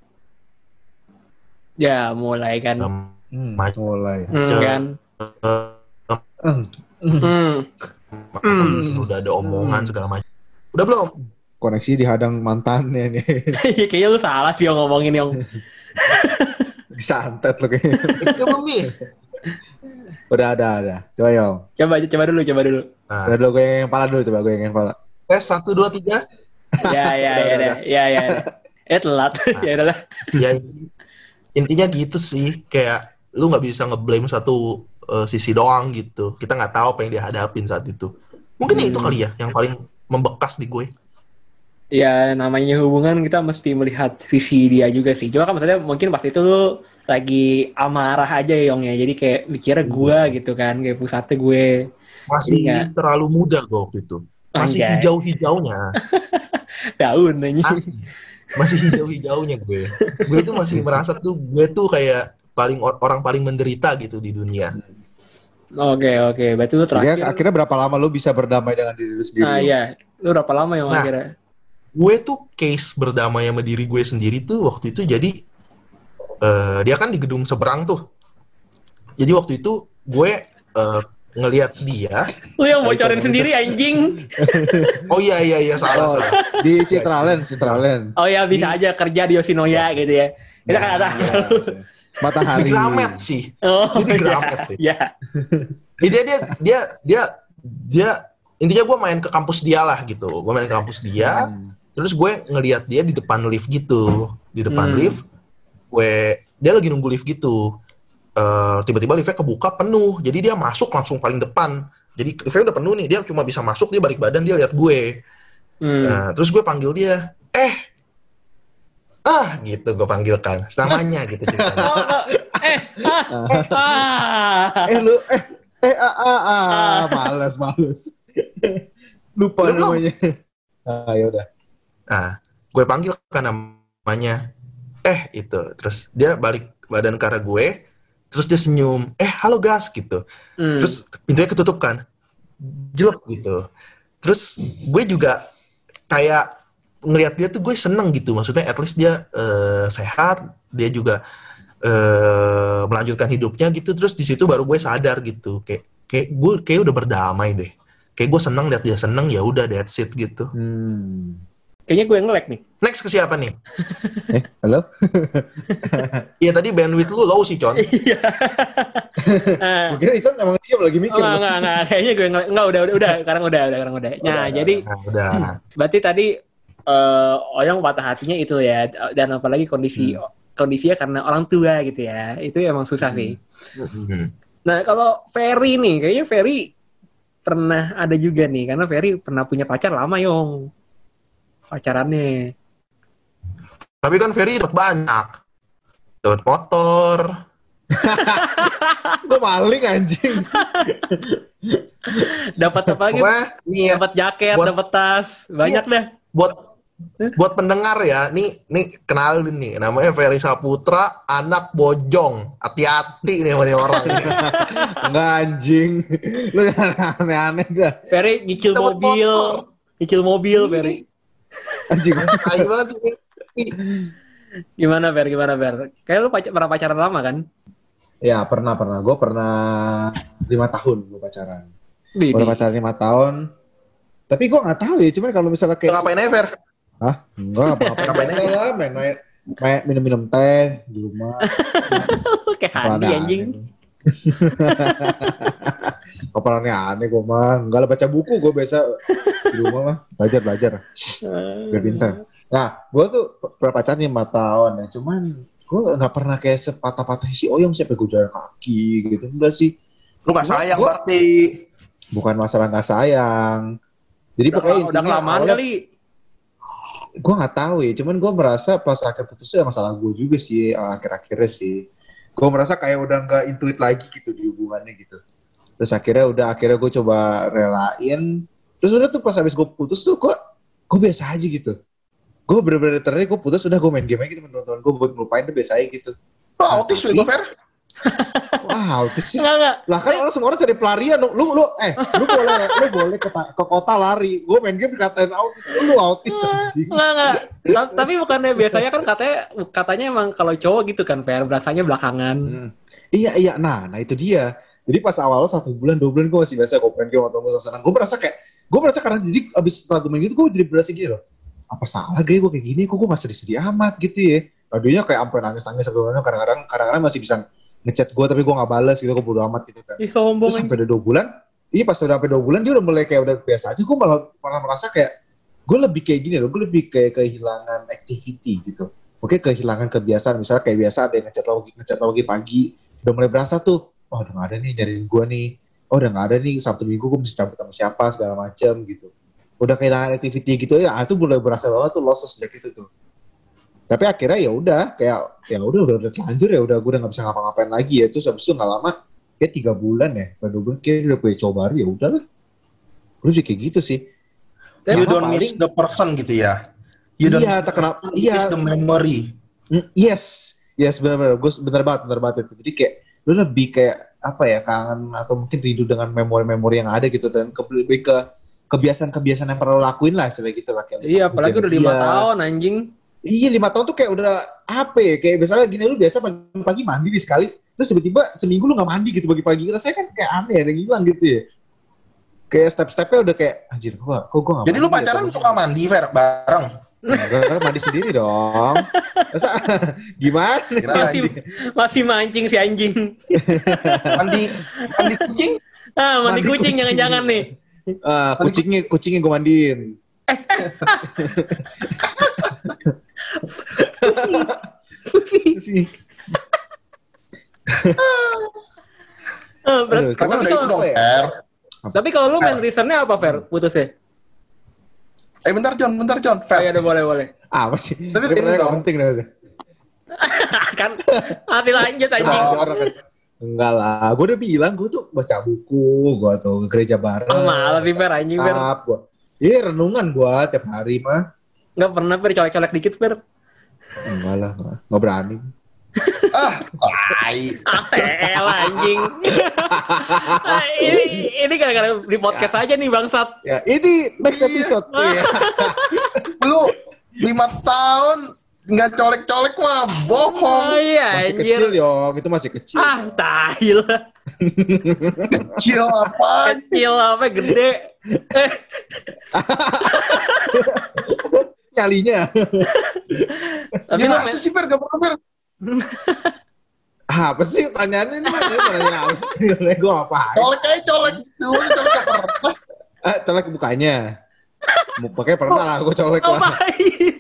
[SPEAKER 1] Ya mulai kan.
[SPEAKER 3] segala
[SPEAKER 2] Hmm,
[SPEAKER 3] macam.
[SPEAKER 2] mulai.
[SPEAKER 1] Hmm,
[SPEAKER 3] se-
[SPEAKER 1] kan.
[SPEAKER 2] Hmm.
[SPEAKER 1] Hmm.
[SPEAKER 3] mungkin udah ada omongan segala macam. Udah belum?
[SPEAKER 2] Koneksi dihadang mantannya nih.
[SPEAKER 1] Kayaknya lu salah sih yang ngomongin Yong.
[SPEAKER 2] Disantet lo kayaknya.
[SPEAKER 3] Udah belum nih?
[SPEAKER 2] Udah, ada, ada. Coba Yong.
[SPEAKER 1] Coba aja, coba dulu, coba dulu.
[SPEAKER 3] Nah,
[SPEAKER 2] Coba dulu gue yang kepala dulu, coba gue yang kepala.
[SPEAKER 3] tes satu dua tiga.
[SPEAKER 1] Ya, ya,
[SPEAKER 2] Udah,
[SPEAKER 1] ya,
[SPEAKER 2] udah,
[SPEAKER 1] ya, ya, ya. Eh telat, ya udahlah.
[SPEAKER 3] Ya intinya gitu sih, kayak lu nggak bisa ngeblame satu uh, sisi doang gitu. Kita nggak tahu apa yang dia hadapin saat itu. Mungkin
[SPEAKER 1] Hmm.
[SPEAKER 3] itu kali ya yang paling membekas di gue.
[SPEAKER 1] Ya namanya hubungan kita mesti melihat sisi dia juga sih. Cuma kan maksudnya mungkin pas itu lu lagi amarah aja ya Yong ya. Jadi kayak mikirnya gue gitu kan, kayak pusatnya gue.
[SPEAKER 3] Masih
[SPEAKER 1] Iya.
[SPEAKER 3] terlalu muda gue waktu itu. Masih
[SPEAKER 1] Anjay.
[SPEAKER 3] hijau-hijaunya.
[SPEAKER 1] Daun aja.
[SPEAKER 3] Asli. Masih hijau-hijaunya gue. Gue tuh masih merasa tuh gue tuh kayak paling orang paling menderita gitu di dunia.
[SPEAKER 1] Oke oke. Berarti lu
[SPEAKER 2] Akhirnya,
[SPEAKER 1] terakhir.
[SPEAKER 2] akhirnya berapa lama lu bisa berdamai dengan diri lu sendiri?
[SPEAKER 1] Nah
[SPEAKER 2] Yong?
[SPEAKER 1] iya. Lu berapa lama Yong
[SPEAKER 3] Nah.
[SPEAKER 1] akhirnya?
[SPEAKER 3] Gue tuh case berdamai sama diri gue sendiri tuh waktu itu jadi eh, dia kan di gedung seberang tuh. Jadi waktu itu gue eh, ngelihat dia.
[SPEAKER 1] Lu yang bocorin
[SPEAKER 2] Ayo,
[SPEAKER 1] sendiri anjing.
[SPEAKER 3] Oh iya iya iya salah
[SPEAKER 2] Oh,
[SPEAKER 3] salah.
[SPEAKER 2] di Citraland, Citraland.
[SPEAKER 1] Oh ya bisa aja kerja di Yoshinoya gitu ya. Kita kan ada.
[SPEAKER 2] Iya. Matahari.
[SPEAKER 3] Di Gramet sih.
[SPEAKER 1] Oh
[SPEAKER 3] Jadi
[SPEAKER 1] iya.
[SPEAKER 3] Gramet sih.
[SPEAKER 1] Iya.
[SPEAKER 3] Jadi dia dia dia dia, dia intinya gue main ke kampus dia lah gitu. Gue main ke kampus dia.
[SPEAKER 2] Hmm.
[SPEAKER 3] Terus gue ngelihat dia di depan lift gitu. Di depan
[SPEAKER 1] Hmm.
[SPEAKER 3] lift, gue dia lagi nunggu lift gitu. Eh, tiba-tiba liftnya kebuka penuh. Jadi dia masuk langsung paling depan. Jadi liftnya udah penuh nih. Dia cuma bisa masuk, dia balik badan, dia lihat gue.
[SPEAKER 1] Hmm.
[SPEAKER 3] Nah, terus gue panggil dia, eh, ah, gitu gue panggil kan, namanya gitu ceritanya.
[SPEAKER 1] Oh, oh, eh, ah, ah.
[SPEAKER 2] Eh lu, eh, eh, ah, ah, ah, males, males. Lupa
[SPEAKER 3] Udah belum?
[SPEAKER 2] namanya. Ah, ya udah.
[SPEAKER 3] Nah, gue panggil kan namanya, eh itu, terus dia balik badan ke arah gue, terus dia senyum, eh halo gas gitu,
[SPEAKER 1] Hmm.
[SPEAKER 3] terus pintunya ketutup kan, jelek gitu, terus gue juga kayak ngelihat dia tuh gue seneng gitu, maksudnya at least dia eh, sehat, dia juga eh, melanjutkan hidupnya gitu, terus di situ baru gue sadar gitu, kayak kayak gue kayak udah berdamai deh, kayak gue seneng lihat dia seneng, ya udah that's it gitu.
[SPEAKER 2] Hmm.
[SPEAKER 1] Kayaknya gue yang nge-lag nih.
[SPEAKER 3] Next ke siapa nih?
[SPEAKER 2] Eh, halo?
[SPEAKER 3] Iya tadi bandwidth lu low sih, Con.
[SPEAKER 1] Iya. Eh,
[SPEAKER 2] Gue kira itu emang dia lagi
[SPEAKER 1] oh,
[SPEAKER 2] mikir.
[SPEAKER 1] enggak, enggak, enggak. Kayaknya gue nge-lag. Enggak, udah, udah, udah. Sekarang udah, udah, sekarang udah. Nah,
[SPEAKER 2] Udah,
[SPEAKER 1] jadi
[SPEAKER 3] Nah, udah.
[SPEAKER 1] berarti tadi eh Oyong patah hatinya itu ya. Dan apalagi kondisi kondisinya karena orang tua gitu ya. Itu emang susah sih.
[SPEAKER 3] Mhm.
[SPEAKER 1] Nah, kalau Ferry nih, kayaknya Ferry pernah ada juga nih. Karena Ferry pernah punya pacar lama, Yong. Pacarannya.
[SPEAKER 3] Tapi kan Ferry dapat banyak. Dapat motor.
[SPEAKER 2] Gue maling anjing.
[SPEAKER 1] Dapat apa lagi?
[SPEAKER 3] Pokoknya nih ya,
[SPEAKER 1] Dapat jaket,
[SPEAKER 3] buat-
[SPEAKER 1] dapat tas. Banyak dah.
[SPEAKER 3] buat buat pendengar ya, nih nih kenalin nih, namanya Ferry Saputra, anak bojong. Hati-hati nih sama nih orang ini.
[SPEAKER 2] Enggak anjing. Lu jangan aneh-aneh dah.
[SPEAKER 1] Ferry nyicil
[SPEAKER 3] Dapat
[SPEAKER 1] mobil.
[SPEAKER 3] motor.
[SPEAKER 1] Nyicil mobil, Ferry.
[SPEAKER 2] Anjing.
[SPEAKER 3] Tai banget sih.
[SPEAKER 1] Gimana, Fer? Gimana, Fer? Kayak lu pac- pernah pacaran lama kan?
[SPEAKER 2] Ya, pernah, pernah. Gue pernah lima tahun gue pacaran.
[SPEAKER 1] Di,
[SPEAKER 2] Gue pacaran lima tahun. Tapi gue nggak tahu ya. Cuman kalau misalnya
[SPEAKER 3] Lu
[SPEAKER 2] kayak
[SPEAKER 3] ngapain aja, Fer?
[SPEAKER 2] Hah? Enggak, apa-apa.
[SPEAKER 3] Ngapain aja?
[SPEAKER 2] lah, main, main, main, minum-minum teh di rumah.
[SPEAKER 1] kayak Handi
[SPEAKER 2] Rada
[SPEAKER 1] anjing.
[SPEAKER 2] aneh. Kepalannya aneh gue mah. Enggak lah, baca buku gue biasa di rumah mah. Belajar-belajar. Biar pintar. Nah, gue tuh pernah pacaran lima tahun ya. Cuman gue nggak pernah kayak sepatah-patah si Oyong siapa gue jalan kaki gitu. Enggak sih.
[SPEAKER 3] Lu gak
[SPEAKER 2] Gua-
[SPEAKER 3] sayang
[SPEAKER 2] gua-
[SPEAKER 3] berarti.
[SPEAKER 2] Bukan masalah nggak sayang. Jadi
[SPEAKER 1] Udah,
[SPEAKER 2] pokoknya
[SPEAKER 1] udah
[SPEAKER 2] intinya
[SPEAKER 1] kelamaan
[SPEAKER 2] awalnya-
[SPEAKER 1] kali.
[SPEAKER 2] gue nggak tahu ya, cuman gue merasa pas akhir putus itu emang salah gue juga sih uh, akhir-akhirnya sih. Gue merasa kayak udah nggak intuit lagi gitu di hubungannya gitu. Terus akhirnya udah akhirnya gue coba relain. Terus udah tuh pas habis gue putus tuh gue gue biasa aja gitu. Gue bener-bener ternyata gue putus udah gue main game aja gitu teman-teman gue buat ngelupain tuh biasa aja gitu.
[SPEAKER 3] Lu autis
[SPEAKER 2] Tapi-
[SPEAKER 3] lu, Fer?
[SPEAKER 2] Wah, autis sih.
[SPEAKER 1] Enggak, enggak.
[SPEAKER 2] Lah kan orang semua orang cari pelarian. Lu lu eh lu boleh lu boleh ke, ta- ke kota lari. Gue main game dikatain autis. Lu autis anjing.
[SPEAKER 1] Enggak, enggak. Ta- Tapi bukannya biasanya kan katanya katanya emang kalau cowok gitu kan, Fer, berasanya belakangan.
[SPEAKER 2] Hmm. Iya iya, nah nah itu dia. Jadi pas awal satu bulan dua bulan gue masih biasa gue main game atau gue senang. Gue merasa kayak gue merasa karena jadi abis setelah gue main gitu gue jadi berasa gini loh. Apa salah gue gue kayak gini? Kok gue nggak sedih-sedih amat gitu ya? Ladunya kayak sampai nangis-nangis sebelumnya. Kadang-kadang kadang-kadang masih bisa ngechat gue tapi gue nggak balas gitu, gue bodo amat gitu kan.
[SPEAKER 1] Ih, sombong
[SPEAKER 2] Terus sampai
[SPEAKER 1] anjing.
[SPEAKER 2] udah dua bulan, iya pas udah sampai dua bulan dia udah mulai kayak udah biasa aja. Gue malah malah merasa kayak gue lebih kayak gini loh, gue lebih kayak kehilangan activity gitu. Oke, kehilangan kebiasaan, misalnya kayak biasa ada yang ngechat lagi, ngechat lagi pagi, udah mulai berasa tuh, oh udah nggak ada nih nyariin gue nih, oh udah nggak ada nih Sabtu Minggu gue mesti cabut sama siapa segala macam gitu. Udah kehilangan activity gitu ya, itu mulai berasa banget tuh loss sejak itu tuh. Tapi akhirnya ya udah kayak ya udah udah udah terlanjur ya udah gue udah nggak bisa ngapa-ngapain lagi ya. Terus habis itu nggak lama kayak tiga bulan ya, baru gue kayak udah punya cowok baru ya udahlah. Gue juga kayak gitu sih.
[SPEAKER 3] You
[SPEAKER 2] Sama
[SPEAKER 3] don't miss
[SPEAKER 2] paling-
[SPEAKER 3] the person gitu ya. You don't
[SPEAKER 2] Iya,
[SPEAKER 3] miss
[SPEAKER 2] tak kenapa.
[SPEAKER 3] the, you
[SPEAKER 2] Iya.
[SPEAKER 3] miss the memory.
[SPEAKER 2] Mm, yes, yes benar-benar. Gue benar banget, benar banget itu. Jadi kayak lu lebih kayak apa ya kangen atau mungkin rindu dengan memori-memori yang ada gitu dan ke, lebih ke kebiasaan-kebiasaan yang pernah lo lakuin lah seperti gitu lah. Kayak
[SPEAKER 1] Iya, apalagi udah lima
[SPEAKER 2] Iya.
[SPEAKER 1] tahun anjing.
[SPEAKER 2] Iya lima tahun tuh kayak udah apa ya, kayak misalnya gini lu biasa pagi-pagi mandi nih sekali, terus tiba-tiba seminggu lu gak mandi gitu pagi-pagi, rasanya kan kayak aneh, ada yang hilang gitu ya. Kayak step-stepnya udah kayak, anjir gua, kok gua gak
[SPEAKER 3] Jadi
[SPEAKER 2] mandi
[SPEAKER 3] lu pacaran
[SPEAKER 2] ya,
[SPEAKER 3] suka mandi, Fer, bareng?
[SPEAKER 2] Gua mandi sendiri dong. Masa gimana?
[SPEAKER 3] Kira
[SPEAKER 1] Masih
[SPEAKER 3] mandi,
[SPEAKER 1] masih mancing si anjing.
[SPEAKER 3] mandi, mandi kucing?
[SPEAKER 1] Ah, mandi,
[SPEAKER 2] Mandi
[SPEAKER 1] kucing
[SPEAKER 2] kucing.
[SPEAKER 1] jangan-jangan nih.
[SPEAKER 2] Ah, kucingnya, kucingnya gua mandiin. Sih.
[SPEAKER 1] Ah, ber-
[SPEAKER 2] Aduh,
[SPEAKER 3] Tapi
[SPEAKER 2] cuman
[SPEAKER 3] udah
[SPEAKER 2] itu
[SPEAKER 3] itu dong,
[SPEAKER 2] apa ya?
[SPEAKER 3] Fer.
[SPEAKER 1] tapi kalau lu main reasonnya apa, Fer? Putusnya?
[SPEAKER 3] Eh, bentar, John, bentar, John.
[SPEAKER 1] Oh,
[SPEAKER 3] Fer,
[SPEAKER 1] iya, udah boleh, boleh.
[SPEAKER 2] Apa sih?
[SPEAKER 3] Tapi
[SPEAKER 2] Ini
[SPEAKER 3] ini
[SPEAKER 2] nggak
[SPEAKER 3] dong.
[SPEAKER 2] penting dong.
[SPEAKER 1] Kan mati lanjut anjing.
[SPEAKER 3] Oh.
[SPEAKER 2] Orang kan. Enggak lah, gue udah bilang gue tuh baca buku, gue tuh ke gereja bareng.
[SPEAKER 1] Ah, malah sih, Fer, anjing, Fer.
[SPEAKER 2] Tetap gue. Iya renungan gue tiap hari mah.
[SPEAKER 1] Nggak pernah, Fer, colek-colek dikit, Fer.
[SPEAKER 2] Enggak lah, enggak, enggak berani.
[SPEAKER 3] ah, tai.
[SPEAKER 1] Asel anjing. Ah, ini ini gara-gara di podcast aja nih bangsat.
[SPEAKER 2] Ya ini next
[SPEAKER 3] Iya.
[SPEAKER 2] episode. Iya.
[SPEAKER 3] Lu lima tahun nggak colek-colek mah bohong.
[SPEAKER 1] Oh iya
[SPEAKER 2] Masih
[SPEAKER 1] anjir.
[SPEAKER 2] kecil yong, itu masih kecil.
[SPEAKER 1] Ah, tahil.
[SPEAKER 3] Kecil apa?
[SPEAKER 1] Kecil apa gede. Eh,
[SPEAKER 2] Nyalinya.
[SPEAKER 1] tapi lu
[SPEAKER 3] Gimana
[SPEAKER 1] main,
[SPEAKER 3] sih, Fer? Gak pernah, Fer.
[SPEAKER 2] Ah, apa sih pertanyaannya ini? Ini pertanyaan apa sih? Gue apa?
[SPEAKER 3] Colek aja, colek. Dulu colek gak pernah.
[SPEAKER 2] Ah, colek bukanya. Makanya pernah lah, gue colek lah.
[SPEAKER 1] ngapain?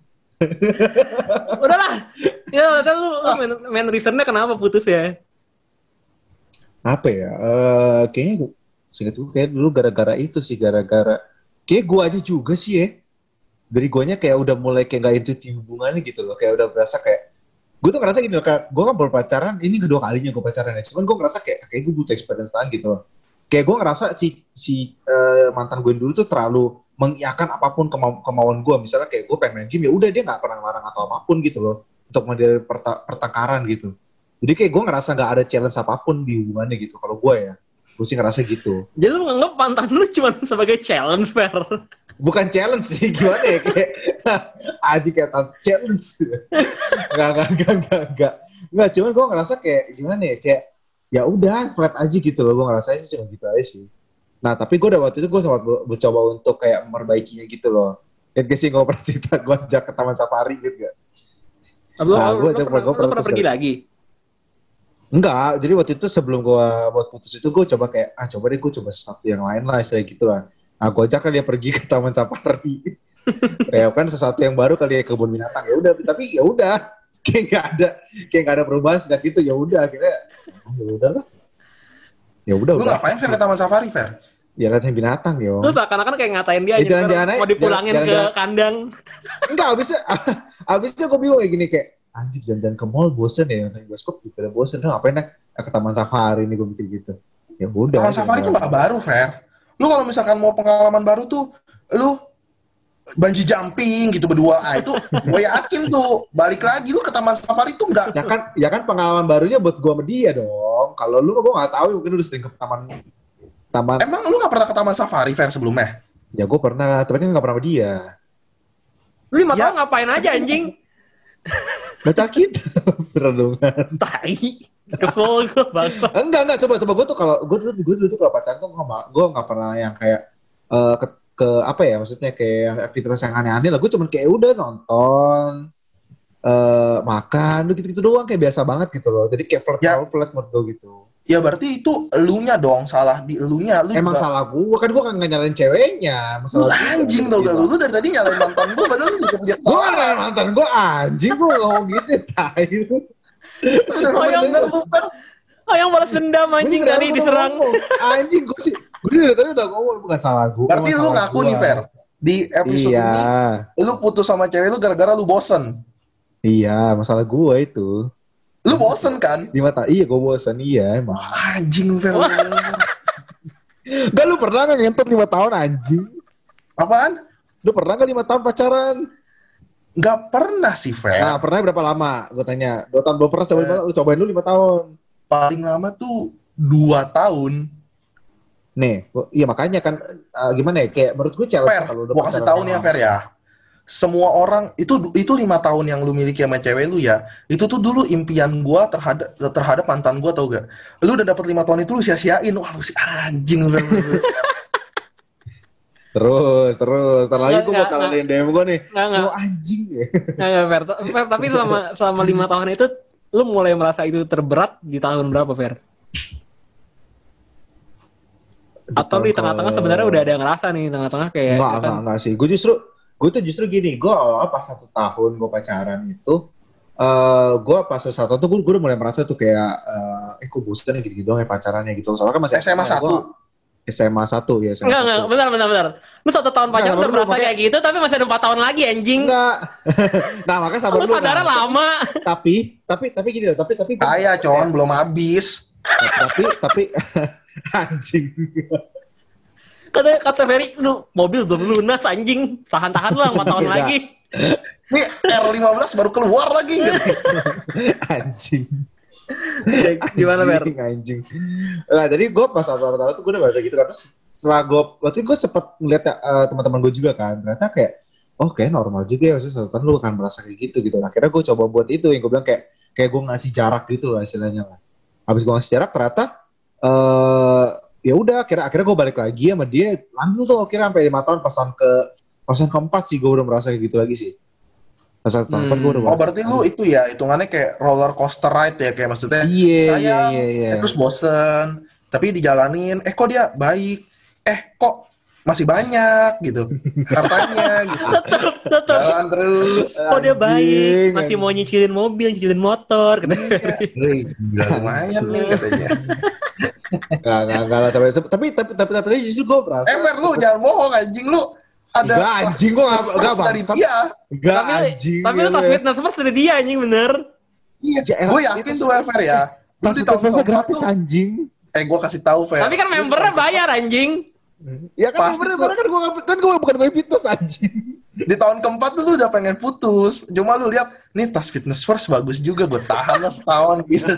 [SPEAKER 1] Udahlah. Ya, udah lu, lu main, main reasonnya kenapa putus ya?
[SPEAKER 2] Apa ya? Eh, kayaknya gue, seinget gue kayak dulu gara-gara itu sih, gara-gara kayak gue aja juga sih ya. Dari guanya kayak udah mulai kayak gak intuit di hubungannya gitu loh, kayak udah berasa kayak gue tuh ngerasa gini loh, kayak gue kan baru pacaran, ini kedua kalinya gue pacaran ya, cuman gue ngerasa kayak kayak gue butuh experience lain gitu loh. Kayak gue ngerasa si si uh, mantan gue dulu tuh terlalu mengiyakan apapun kemau kemauan gue, misalnya kayak gue pengen main game ya udah dia nggak pernah larang atau apapun gitu loh untuk menghindari perta pertengkaran gitu. Jadi kayak gue ngerasa nggak ada challenge apapun di hubungannya gitu. Kalau gue ya, gue sih ngerasa gitu.
[SPEAKER 1] Jadi lu nganggep mantan lu cuma sebagai challenge, Fer.
[SPEAKER 2] Bukan challenge sih, gimana ya, kayak aji kayak challenge. Enggak, enggak, enggak, enggak, enggak. Enggak, cuman gue ngerasa kayak gimana ya, kayak ya udah flat aja gitu loh, gue ngerasa sih cuma gitu aja sih. Nah, tapi gue udah waktu itu gue sempat mencoba untuk kayak memperbaikinya gitu loh. Dan kayak sih gue pernah cerita, gue ajak ke Taman Safari gitu gak?
[SPEAKER 1] Lu,
[SPEAKER 2] Nah,
[SPEAKER 1] lu,
[SPEAKER 2] gua-
[SPEAKER 1] lu,
[SPEAKER 2] gua-
[SPEAKER 1] pernah,
[SPEAKER 2] gua
[SPEAKER 1] lu
[SPEAKER 2] pernah
[SPEAKER 1] pernah
[SPEAKER 2] terus
[SPEAKER 1] pergi
[SPEAKER 2] kali.
[SPEAKER 1] lagi?
[SPEAKER 2] Enggak, jadi waktu itu sebelum gue buat putus itu gue coba kayak, ah coba deh gue coba sesuatu yang lain lah, istilah gitu lah. Nah, gue ajak kan dia pergi ke Taman Safari. Ya kan sesuatu yang baru kali ya, kebun binatang. Ya udah, tapi ya udah, kayak nggak ada, kayak nggak ada perubahan sejak itu. Ya udah, akhirnya ya udah lah. Ya udah,
[SPEAKER 3] Lu
[SPEAKER 2] udah.
[SPEAKER 3] ngapain, Fer, di Taman Safari, Fer?
[SPEAKER 2] Ya liatin binatang yo.
[SPEAKER 1] Lu seakan-akan kayak ngatain dia
[SPEAKER 2] Ya,
[SPEAKER 1] aja,
[SPEAKER 2] jalan-jalan
[SPEAKER 1] Fer.
[SPEAKER 2] aja,
[SPEAKER 1] Mau dipulangin
[SPEAKER 2] jalan-
[SPEAKER 1] ke
[SPEAKER 2] jalan-jalan.
[SPEAKER 1] kandang.
[SPEAKER 2] Enggak, abisnya, abisnya gue bingung kayak gini kayak, anjir jalan-jalan ke mall bosen ya, nonton bioskop juga bosen. Nah, ngapain ya? Ke Taman Safari nih gue mikir gitu. Ya udah.
[SPEAKER 3] Taman Safari tuh nggak baru, Fer. Lu kalau misalkan mau pengalaman baru tuh, lu bungee jumping gitu berdua. Ah, itu gue yakin tuh balik lagi lu ke Taman Safari tuh nggak.
[SPEAKER 2] Ya kan, ya kan pengalaman barunya buat gue sama dia dong. Kalau lu gue nggak tahu, mungkin lu udah sering ke taman, taman.
[SPEAKER 3] Emang lu nggak pernah ke Taman Safari, Fer, sebelumnya?
[SPEAKER 2] Ya gue pernah, tapi kan nggak pernah sama dia.
[SPEAKER 1] Lu lima
[SPEAKER 3] Ya.
[SPEAKER 1] tahun ngapain aja anjing?
[SPEAKER 2] Baca kita renungan.
[SPEAKER 1] Tai. Kesel gue bangsa.
[SPEAKER 2] Enggak enggak, coba coba gue tuh kalau gue dulu gue dulu tuh kalau pacaran tuh gue nggak pernah yang kayak eh, ke, ke apa ya maksudnya kayak aktivitas yang aneh-aneh lah. Gue cuman kayak udah nonton, eh makan, udah gitu-gitu doang kayak biasa banget gitu loh. Jadi kayak flat
[SPEAKER 3] Ya.
[SPEAKER 2] terlalu flat menurut gue gitu.
[SPEAKER 3] Ya berarti itu elunya dong, salah di elunya. Lu
[SPEAKER 2] Emang
[SPEAKER 3] juga
[SPEAKER 2] salah gue kan gue kan nggak nyalain ceweknya,
[SPEAKER 3] lu
[SPEAKER 2] masalah gue.
[SPEAKER 3] anjing tau gak lu. Lu dari tadi nyalain mantan gue, padahal lu juga punya
[SPEAKER 2] Gue kan
[SPEAKER 3] kesalahan.
[SPEAKER 2] nyalain mantan gue anjing, gue ngomong gitu tai.
[SPEAKER 3] Bener
[SPEAKER 1] Oh, yang-
[SPEAKER 3] bener lu kan.
[SPEAKER 1] Oh, yang balas dendam anjing
[SPEAKER 2] Gua
[SPEAKER 1] tadi
[SPEAKER 2] udah
[SPEAKER 1] diserang.
[SPEAKER 2] ngomong. Anjing gue sih, gue dari tadi udah ngomong bukan salah gue.
[SPEAKER 3] Berarti
[SPEAKER 2] emang
[SPEAKER 3] lu
[SPEAKER 2] salah
[SPEAKER 3] ngaku
[SPEAKER 2] gua.
[SPEAKER 3] nih Fer, di episode
[SPEAKER 2] Iya,
[SPEAKER 3] ini lu putus sama cewek lu gara-gara lu bosen.
[SPEAKER 2] iya masalah gue itu.
[SPEAKER 3] Lu bosen kan?
[SPEAKER 2] Di mata, iya gue bosan, iya emang.
[SPEAKER 3] Anjing lu Fer.
[SPEAKER 2] Gak lu pernah gak ngentot lima tahun anjing?
[SPEAKER 3] Apaan?
[SPEAKER 2] Lu pernah gak lima tahun pacaran?
[SPEAKER 3] Nggak pernah sih Fer.
[SPEAKER 2] Nah pernah berapa lama? Gue tanya. Dua tahun belum pernah cobain,
[SPEAKER 3] Eh.
[SPEAKER 2] lu cobain lu lima tahun.
[SPEAKER 3] Paling lama tuh dua tahun.
[SPEAKER 2] Nih, gua- iya makanya kan uh, gimana ya? Kayak menurut gue challenge
[SPEAKER 3] Fer,
[SPEAKER 2] kalau udah
[SPEAKER 3] gua kasih
[SPEAKER 2] pacaran
[SPEAKER 3] tahu nih ya
[SPEAKER 2] lama.
[SPEAKER 3] Fer ya. Semua orang itu itu lima tahun yang lu miliki sama cewek lu ya. Itu tuh dulu impian gua terhadap terhadap mantan gua tau gak? Lu udah dapet lima tahun itu lu sia-siain. Wah lu si anjing lu.
[SPEAKER 2] Terus, terus. Ntar lagi
[SPEAKER 1] Nggak,
[SPEAKER 2] gue
[SPEAKER 1] nggak,
[SPEAKER 2] bakal
[SPEAKER 1] nggak.
[SPEAKER 2] ngadain D M gue nih.
[SPEAKER 1] Nggak, nggak.
[SPEAKER 2] Cowok anjing ya.
[SPEAKER 1] Nggak, nggak, Fer. Fer, tapi selama selama lima tahun itu lu mulai merasa itu terberat di tahun berapa, Fer? Atau di tengah-tengah sebenarnya udah ada yang ngerasa nih, tengah-tengah kayak
[SPEAKER 2] Enggak,
[SPEAKER 1] ya kan?
[SPEAKER 2] enggak, enggak sih. Gue justru, gue tuh justru gini. Gue awal pas satu tahun gue pacaran itu, eh gue pas satu tahun tuh gue, gue udah mulai merasa tuh kayak, eh, eh kok bosan ya gitu-gitu doang ya pacarannya gitu. Soalnya kan masih
[SPEAKER 3] S M A satu.
[SPEAKER 2] S M A satu ya. S M A
[SPEAKER 1] Enggak, enggak,
[SPEAKER 2] satu.
[SPEAKER 1] benar, benar, benar. Lu satu tahun
[SPEAKER 2] Nggak,
[SPEAKER 1] pacaran
[SPEAKER 2] sabar
[SPEAKER 1] udah
[SPEAKER 2] dulu,
[SPEAKER 1] merasa
[SPEAKER 2] makanya-
[SPEAKER 1] kayak gitu, tapi masih ada empat tahun lagi anjing.
[SPEAKER 2] Enggak. Nah makanya sabar
[SPEAKER 1] Lu
[SPEAKER 2] dulu.
[SPEAKER 1] sadarnya
[SPEAKER 2] nah.
[SPEAKER 1] lama.
[SPEAKER 2] Tapi, tapi, tapi gini loh. Tapi, tapi.
[SPEAKER 3] Kaya con belum habis.
[SPEAKER 2] Tapi, tapi, anjing.
[SPEAKER 1] Kata kata Ferry, lu mobil belum lunas anjing. Tahan-tahan lah empat tahun
[SPEAKER 2] Iya.
[SPEAKER 1] lagi.
[SPEAKER 3] Nih R lima belas baru keluar lagi gitu.
[SPEAKER 2] Anjing.
[SPEAKER 1] Gimana, Fer?
[SPEAKER 2] Anjing, anjing. Nah, jadi gue pas awal-awal tuh gue udah baca gitu kan. Terus setelah gue, waktu itu gue sempet ngeliat uh, teman-teman gue juga kan. Ternyata kayak, oh kayak normal juga ya. Maksudnya satu tahun lu akan merasa kayak gitu gitu. Nah, akhirnya gue coba buat itu. Yang gue bilang kayak, kayak gue ngasih jarak gitu lah istilahnya lah. Habis gue ngasih jarak ternyata, eh ya udah akhirnya akhirnya gue balik lagi sama dia. Lanjut tuh akhirnya sampai lima tahun pas tahun ke pas tahun keempat sih gue udah merasa kayak gitu lagi sih. Pas tahun
[SPEAKER 1] Hmm.
[SPEAKER 2] keempat gue udah
[SPEAKER 3] Oh
[SPEAKER 2] merasa
[SPEAKER 3] berarti lu itu ya hitungannya kayak roller coaster ride ya, kayak maksudnya
[SPEAKER 2] Iya, iya,
[SPEAKER 3] sayang,
[SPEAKER 2] iya, iya.
[SPEAKER 3] eh, terus bosen, tapi dijalanin, eh kok dia baik, eh kok masih banyak gitu hartanya gitu,
[SPEAKER 1] Tetep.
[SPEAKER 3] jalan terus.
[SPEAKER 1] Oh dia baik,
[SPEAKER 2] Anjing,
[SPEAKER 1] masih mau
[SPEAKER 2] anjing.
[SPEAKER 1] nyicilin mobil, nyicilin motor. Kata Ferry.
[SPEAKER 3] Wih, gila lumayan nih katanya.
[SPEAKER 2] Nggak, nggak, nggak lah sampai tapi tapi tapi tapi, tapi justru gue merasa
[SPEAKER 3] Eh Fer, lu jangan bohong anjing lu. Ada
[SPEAKER 2] Nggak, anjing, gua nggak-
[SPEAKER 3] plus
[SPEAKER 2] nggak,
[SPEAKER 3] dari
[SPEAKER 2] bangsat.
[SPEAKER 3] dia.
[SPEAKER 2] enggak
[SPEAKER 1] Tapi,
[SPEAKER 2] anjing.
[SPEAKER 1] tapi lu tas fitness first dari dia anjing bener.
[SPEAKER 3] Iya,
[SPEAKER 2] Ya, elah,
[SPEAKER 3] gue
[SPEAKER 2] itu
[SPEAKER 3] yakin
[SPEAKER 2] tas-
[SPEAKER 3] tuh Fer ya. Lu
[SPEAKER 2] Tas
[SPEAKER 3] di
[SPEAKER 2] tas
[SPEAKER 3] tahun
[SPEAKER 2] masa
[SPEAKER 3] keempat
[SPEAKER 2] gratis
[SPEAKER 3] tuh-
[SPEAKER 2] anjing.
[SPEAKER 3] Eh gue kasih tahu Fer.
[SPEAKER 1] Tapi kan
[SPEAKER 3] Lu di
[SPEAKER 1] membernya
[SPEAKER 3] tahun-
[SPEAKER 1] bayar anjing.
[SPEAKER 2] Ya kan
[SPEAKER 3] Pasti
[SPEAKER 2] bener
[SPEAKER 3] tuh.
[SPEAKER 2] bener kan gue kan gue bukan gue fitness anjing.
[SPEAKER 3] Di tahun keempat tuh lu udah pengen putus. Cuma lu lihat, nih tas fitness first bagus juga, gue tahan lah setahun gitu.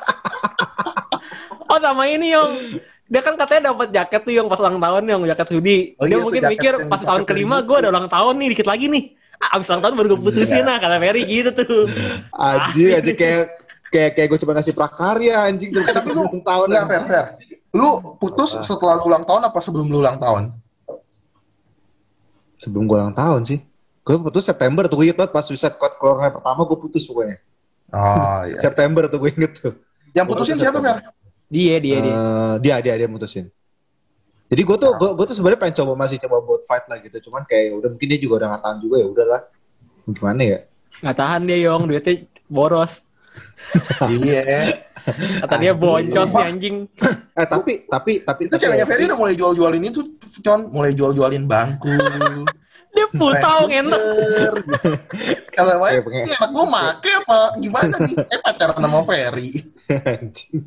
[SPEAKER 1] Oh sama ini yang dia kan katanya dapat jaket tuh yang pas ulang tahun yang jaket hoodie.
[SPEAKER 3] Oh
[SPEAKER 1] Dia
[SPEAKER 3] iya,
[SPEAKER 1] mungkin
[SPEAKER 3] tuh jaket
[SPEAKER 1] mikir
[SPEAKER 3] yang
[SPEAKER 1] pas tahun
[SPEAKER 3] jaket
[SPEAKER 1] kelima
[SPEAKER 3] dari
[SPEAKER 1] gue ada ulang tahun nih dikit lagi nih. Ah, abis ulang tahun baru gue putusin
[SPEAKER 3] Iya.
[SPEAKER 1] nah kata Ferry gitu tuh.
[SPEAKER 2] Anjing anjing kayak kayak kayak gue cuma ngasih prakarya anjing
[SPEAKER 3] Eh, tapi lu
[SPEAKER 2] ulang tahun.
[SPEAKER 3] enggak Fer,
[SPEAKER 2] anjing.
[SPEAKER 3] Fer. Lu putus setelah lu ulang tahun apa sebelum lu ulang tahun?
[SPEAKER 2] Sebelum gue ulang tahun sih. Gue putus September tuh gue inget banget pas suicide code keluar hari pertama gue putus pokoknya.
[SPEAKER 3] Oh iya.
[SPEAKER 2] September tuh gue inget tuh.
[SPEAKER 3] Yang putusin siapa Fer?
[SPEAKER 1] Dia dia dia.
[SPEAKER 2] Eh, dia dia dia mutusin. Jadi gue tuh gue, gue tuh sebenarnya pengen coba masih coba buat fight lah gitu, cuman kayak udah mungkin dia juga udah nggak tahan juga ya udahlah. Gimana ya?
[SPEAKER 1] Nggak tahan dia Yong, duitnya boros.
[SPEAKER 3] Iya.
[SPEAKER 1] Kata dia boncos nih anjing.
[SPEAKER 2] Eh tapi tapi tapi
[SPEAKER 3] Itu ceweknya Ferry udah mulai jual-jualin itu, Con. Mulai jual-jualin bangku.
[SPEAKER 1] Dia putau
[SPEAKER 3] rice
[SPEAKER 1] ngentot.
[SPEAKER 3] cooker. Kalau
[SPEAKER 2] Kayak
[SPEAKER 3] Maya,
[SPEAKER 2] pengen-
[SPEAKER 3] ini anak gue make apa gimana nih? Eh pacaran sama Ferry.
[SPEAKER 2] Anjing.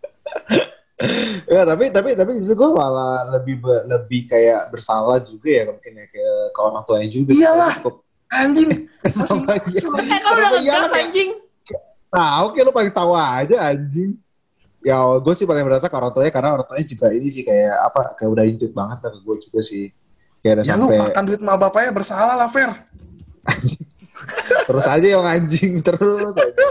[SPEAKER 2] Ya tapi tapi tapi justru gue malah lebih be- lebih kayak bersalah juga ya mungkin ya ke, ke orang tuanya juga.
[SPEAKER 3] Iyalah.
[SPEAKER 2] Cukup.
[SPEAKER 3] Anjing. Masih
[SPEAKER 2] Kenapa iya?
[SPEAKER 3] muncul.
[SPEAKER 1] Eh kau udah
[SPEAKER 2] Kenapa iya
[SPEAKER 1] ngegas
[SPEAKER 2] lah, kayak-
[SPEAKER 1] anjing.
[SPEAKER 2] Nah oke lu paling tahu aja anjing. Ya gue sih paling berasa ke orang tuanya karena orang tuanya juga ini sih kayak apa kayak udah intuit banget lah ke gue juga sih. Kayak udah
[SPEAKER 3] Ya lu
[SPEAKER 2] sampai
[SPEAKER 3] makan duit sama bapaknya bersalah lah Fer.
[SPEAKER 2] terus aja yang anjing terus aja.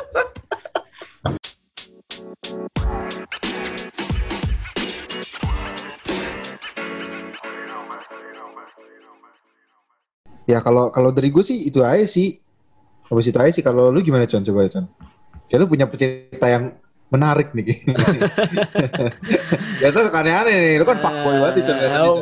[SPEAKER 2] Ya kalau kalau dari gue sih itu aja sih. Habis itu aja sih. Kalau lu gimana Con? Coba Con. Kayak lu punya cerita yang menarik nih. Biasa suka aneh-aneh nih. Lu kan fuckboy banget nih Con.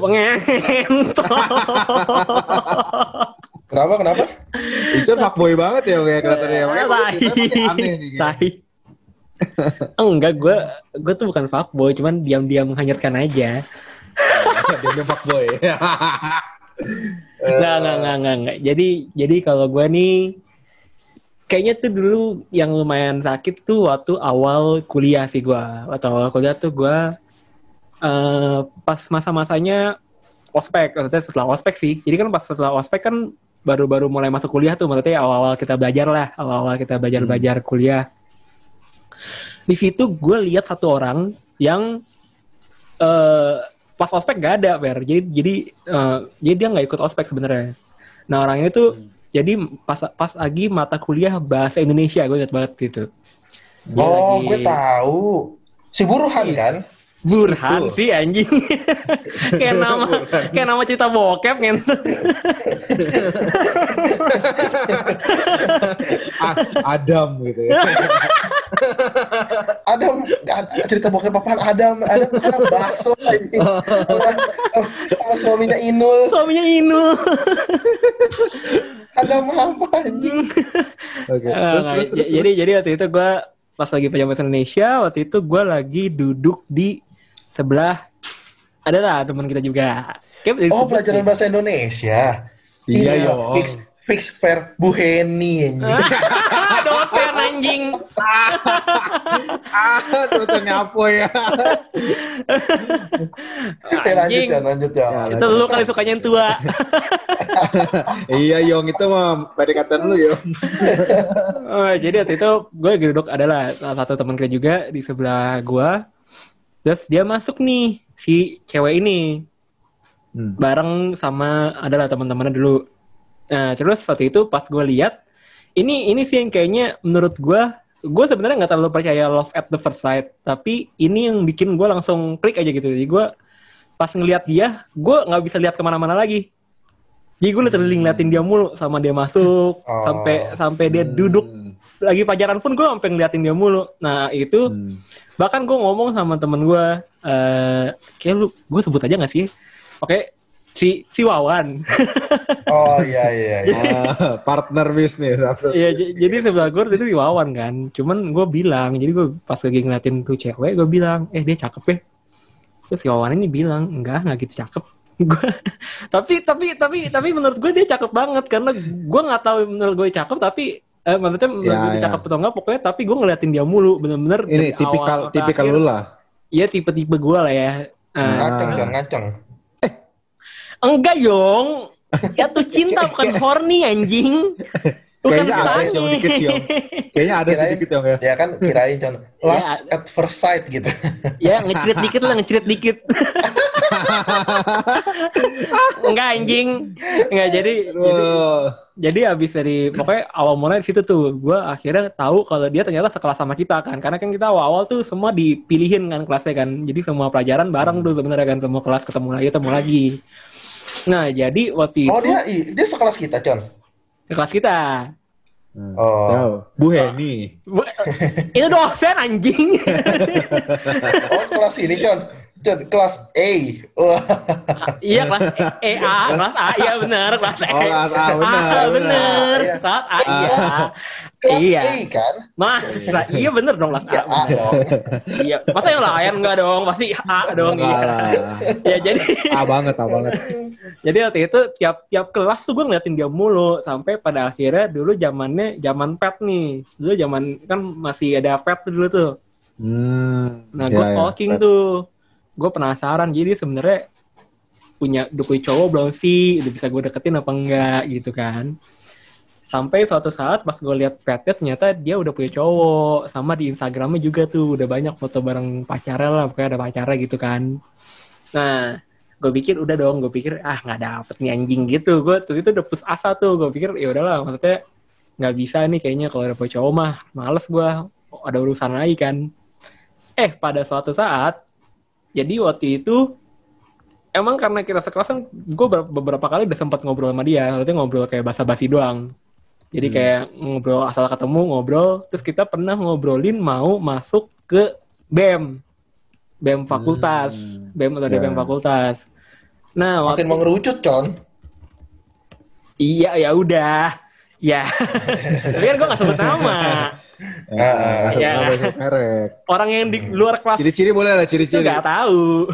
[SPEAKER 3] Kenapa, kenapa?
[SPEAKER 2] Icon fuckboy banget ya kayak kelihatannya. Makanya kalau cerita masih aneh nih.
[SPEAKER 1] Tai. Enggak, gue gue tuh bukan fuckboy, cuman diam-diam menghanyutkan aja.
[SPEAKER 2] Dia fuckboy.
[SPEAKER 1] Nggak, nggak, nggak, nggak, nggak. Jadi, jadi kalau gue nih, kayaknya tuh dulu yang lumayan sakit tuh waktu awal kuliah sih gue. Waktu awal kuliah tuh gue uh, pas masa-masanya ospek, maksudnya setelah ospek sih. Jadi kan pas setelah ospek kan baru-baru mulai masuk kuliah tuh, maksudnya awal-awal kita belajar lah, awal-awal kita belajar-belajar hmm. kuliah. Di situ gue lihat satu orang yang uh, pas ospek gak ada, Fer. Jadi jadi uh, jadi dia nggak ikut ospek sebenarnya. Nah orangnya itu hmm. jadi pas pas lagi mata kuliah bahasa Indonesia, gue ingat banget gitu. Dia
[SPEAKER 3] oh,
[SPEAKER 1] lagi...
[SPEAKER 3] gue tahu. Si Burhan kan?
[SPEAKER 1] Burhan sih anjing. Kayak nama Burhan. Kayak nama cerita bokep kan.
[SPEAKER 2] Adam gitu ya.
[SPEAKER 3] Adam, cerita bokep apaan? Adam, Adam anak bakso anjing. Sama suaminya Inul.
[SPEAKER 1] Suaminya Inul.
[SPEAKER 3] Adam apa anjing?
[SPEAKER 2] Oke. Okay. Terus,
[SPEAKER 1] nah,
[SPEAKER 2] terus, terus,
[SPEAKER 1] jadi
[SPEAKER 2] terus.
[SPEAKER 1] jadi waktu itu gue pas lagi pelajaran bahasa Indonesia, waktu itu gue lagi duduk di sebelah adalah teman kita juga.
[SPEAKER 3] Kayak oh, pelajaran bahasa Indonesia.
[SPEAKER 2] Iya,
[SPEAKER 3] iya
[SPEAKER 2] yo.
[SPEAKER 3] Fix fix fair Bu Heni anjing.
[SPEAKER 1] Dosen anjing.
[SPEAKER 2] Ah, dosennya apa ya?
[SPEAKER 3] Eh, lanjut ya, lanjut ya.
[SPEAKER 2] Ya,
[SPEAKER 1] itu lu kali sukanya yang tua.
[SPEAKER 2] Iya, Yong, itu mah pendekatan lu, Yong.
[SPEAKER 1] Oh, jadi waktu itu gue duduk adalah salah satu teman kita juga di sebelah gue. Terus dia masuk nih si cewek ini hmm. bareng sama adalah teman-temannya dulu. Nah terus waktu itu pas gue lihat ini ini sih yang kayaknya menurut gue gue sebenarnya nggak terlalu percaya love at the first sight, tapi ini yang bikin gue langsung klik aja gitu. Jadi gue pas ngeliat dia gue nggak bisa lihat kemana-mana lagi. Jadi gue literally ngeliatin dia mulu sama dia masuk oh. sampai sampai dia duduk hmm. lagi pacaran pun gue sampai ngeliatin dia mulu. Nah itu hmm. bahkan gue ngomong sama temen gue, uh, kayak lu, gue sebut aja nggak sih? Oke, okay, si si Wawan.
[SPEAKER 3] Oh iya iya. iya.
[SPEAKER 2] Uh, partner bisnis.
[SPEAKER 1] Iya, j- jadi sebelah gue itu si Wawan kan. Cuman gue bilang, jadi gue pas lagi ngeliatin tuh cewek, gue bilang, eh dia cakep ya. Terus si Wawan ini bilang, enggak, nggak gitu cakep. Gue, tapi tapi tapi tapi menurut gue dia cakep banget karena gue nggak tahu menurut gue cakep tapi Eh, maksudnya ya, ya. cakep atau enggak pokoknya tapi gue ngeliatin dia mulu bener-bener
[SPEAKER 2] ini tipikal tipikal lu lah
[SPEAKER 1] iya tipe-tipe gue lah ya uh,
[SPEAKER 3] ngaceng kan ngaceng
[SPEAKER 2] eh
[SPEAKER 1] enggak Yong ya tuh cinta bukan horny anjing bukan
[SPEAKER 2] kayaknya ada sih dikit sih Yong kayaknya ada
[SPEAKER 3] kirain,
[SPEAKER 2] sedikit Yong ya
[SPEAKER 3] ya kan kirain John last ya, at first sight gitu
[SPEAKER 1] ya ngecirit dikit lah ngecirit dikit enggak anjing enggak jadi jadi jadi abis dari pokoknya awal mulai di situ tuh gue akhirnya tahu kalau dia ternyata sekelas sama kita kan karena kan kita awal-awal tuh semua dipilihin kan kelasnya kan jadi semua pelajaran bareng tuh sebenarnya kan semua kelas ketemu lagi ketemu lagi nah jadi waktu
[SPEAKER 3] oh,
[SPEAKER 1] itu
[SPEAKER 3] dia dia sekelas kita Con
[SPEAKER 1] sekelas kita
[SPEAKER 2] hmm. oh Bu Heni
[SPEAKER 1] Bu, itu dosen anjing
[SPEAKER 3] oh kelas ini Con Con, kelas A. Wah.
[SPEAKER 1] Iya, kelas E A, kelas A. Iya benar, kelas E.
[SPEAKER 2] Oh, kelas A benar.
[SPEAKER 1] Ah, benar. Kelas A iya.
[SPEAKER 3] Kelas
[SPEAKER 1] iya.
[SPEAKER 3] A kan?
[SPEAKER 1] Masa iya benar dong kelas A.
[SPEAKER 3] Ya, A dong.
[SPEAKER 1] Iya. Masa yang lain enggak dong? Pasti A dong iya. Ya jadi
[SPEAKER 2] A banget, A banget.
[SPEAKER 1] Jadi waktu itu tiap tiap kelas tuh gue ngeliatin dia mulu sampai pada akhirnya dulu zamannya zaman pet nih. Dulu zaman kan masih ada pet dulu tuh.
[SPEAKER 2] Hmm.
[SPEAKER 1] Nah, gue
[SPEAKER 2] ya,
[SPEAKER 1] stalking
[SPEAKER 2] ya,
[SPEAKER 1] tuh. Gue penasaran jadi sebenarnya punya udah punya cowok belum sih udah bisa gue deketin apa enggak gitu kan sampai suatu saat pas gue lihat petnya ternyata dia udah punya cowok sama di Instagramnya juga tuh udah banyak foto bareng pacarnya lah pokoknya ada pacarnya gitu kan nah gue pikir udah dong gue pikir ah nggak dapet nih anjing gitu gue tuh itu udah putus asa tuh gue pikir ya udahlah maksudnya nggak bisa nih kayaknya kalau udah punya cowok mah males gue ada urusan lagi kan eh pada suatu saat jadi waktu itu emang karena kita sekelas kan gue beberapa kali udah sempat ngobrol sama dia, waktu ngobrol kayak basa-basi doang. Jadi
[SPEAKER 2] Hmm.
[SPEAKER 1] kayak ngobrol asal ketemu ngobrol, terus kita pernah ngobrolin mau masuk ke B E M, B E M fakultas,
[SPEAKER 2] Hmm.
[SPEAKER 1] B E M atau
[SPEAKER 2] Ya.
[SPEAKER 1] D P M fakultas. Nah,
[SPEAKER 3] Makin
[SPEAKER 1] waktu
[SPEAKER 3] mengerucut, Con.
[SPEAKER 1] iya ya udah, ya. Tapi kan gue nggak sebut nama.
[SPEAKER 2] Ya,
[SPEAKER 3] Ah,
[SPEAKER 1] ya.
[SPEAKER 2] nggak boleh merek.
[SPEAKER 1] Orang yang di
[SPEAKER 3] Hmm.
[SPEAKER 1] luar kelas
[SPEAKER 2] Ciri-ciri boleh lah,
[SPEAKER 1] itu
[SPEAKER 2] ciri-ciri.
[SPEAKER 1] nggak tahu.